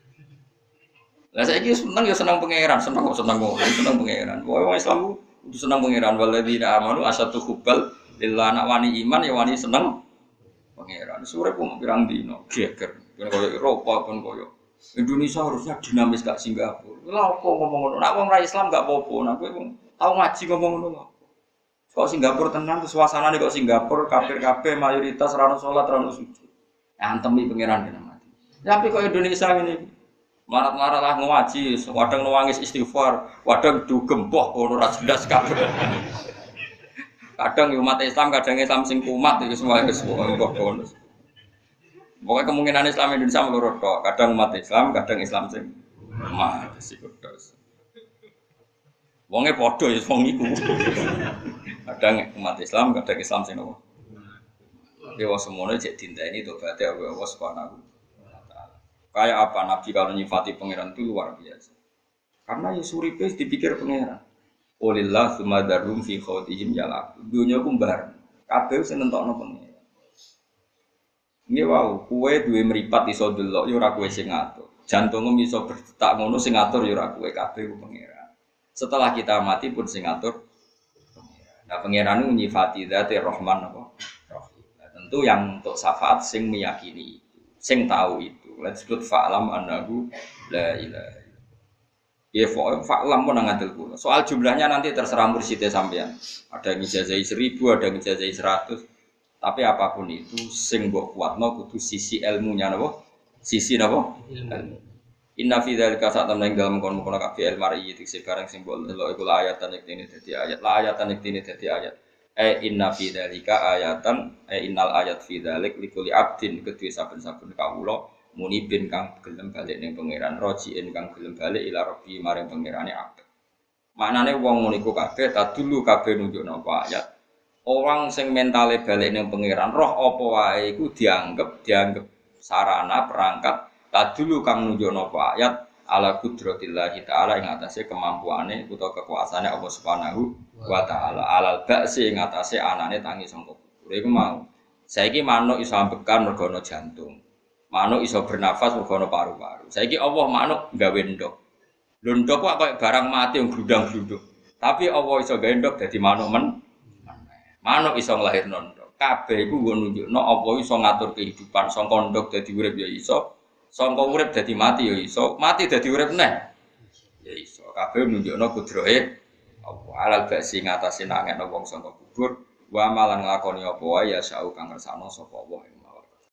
Lah saiki seneng ya seneng pangeran, seneng kok seneng pangeran. Wong Islam kudu seneng pangeran waladina amanu asatu hubbal lillah anak wani iman ya wani seneng pangeran. Sore kok pirang dino geger. Koyo Eropa kon koyo Indonesia harusnya dinamis gak Singapura. Lha opo ngomong ngono? Nek wong ra Islam gak apa-apa, nek kowe tau ngaji ngomong ngono lho. Kok Singapura tenan terus suasanane kok Singapura kafir-kafir mayoritas ra ono salat ra ono sujud. Antemi pangeran kena mati. Tapi kok Indonesia ngene marat-marat lah ngaji, kadang nangis istighfar, kadang dugembah ora jelas kabeh. Kadang umat Islam, kadang Islam sing kumat iki semua kok bonus. Pokoke kemungkinan Islam Indonesia loro tok, kadang umat Islam, kadang Islam sing kumat sikodos. Wonge padha ya wong iku. Kadang umat Islam, kadang Islam sing nopo. Dewa semono cek dinteni tobaté Allah Subhanahu. Kayak apa Nabi kalau nyifati pangeran itu luar biasa. Karena ya suripe dipikir pangeran. Walillah sumadarum fi khawtihim yalaq. Dunya ku mbar. Kabeh sing nentokno pangeran. Nggih wau, kowe duwe mripat iso delok ya ora kowe sing ngatur. Jantungmu iso berdetak ngono sing ngatur ya ora kowe kabeh ku pangeran. Setelah kita mati pun sing ngatur pangeran. Nah pangeran nyifati dzate Rahman apa? Rahim. Nah, tentu yang untuk syafaat sing meyakini itu, sing tahu itu. Let's disebut fa'lam annahu la ilaha. Ya fa'lam pun ngadil kula. Soal jumlahnya nanti terserah mursyidnya sampean. Ada yang ijazah 1000, ada yang ijazah 100. Tapi apapun itu sing mbok kuatno kudu sisi ilmunya napa? Sisi napa? Ilmu. Inna fi dzalika sa'atan ing dalem kono kabeh ilmari iki sekarang simbol delok iku ayatan iki dadi ayat. La ayatan iki dadi ayat. Inna fi dzalika ayatan innal ayat fi dzalik likulli abdin kedue saben-saben kawula munibin kang gelem balik ning pangeran rojiin kang gelem balik ila rabbi maring pangerane abad. Maknane wong ngono iku kabeh tadulu kabeh nunjukno apa ayat. Orang sing mentale balik ning pangeran roh apa wae iku dianggep sarana perangkat tadulu kang nunjukno apa ayat ala qudratillah taala ing atase kemampuane utawa kekuasaane Allah Subhanahu wa taala alal ba'si ing atase anane tangi sangka kubur. Iku mau. Saiki manuk iso ambekan mergo ana jantung. Manuk iso bernafas mergo ana paru-paru. Saiki Allah manuk gawe ndok. Lho ndok kok koyo barang mati yang gludang-gluduk. Tapi Allah iso gawe ndok dadi manuk manuk iso nglahirno ndok. Kabeh iku nggo nunjukno apa iso ngatur kehidupan saka ndok dadi urip ya iso, saka urip dadi mati ya iso, mati dadi urip neh. Ya iso. Kabeh nunjukno kudrohe apa alal ba'si ngatasi nangekno wong saka kubur wa malan nglakoni apa wae ya sau kang ngersano sapa Allah.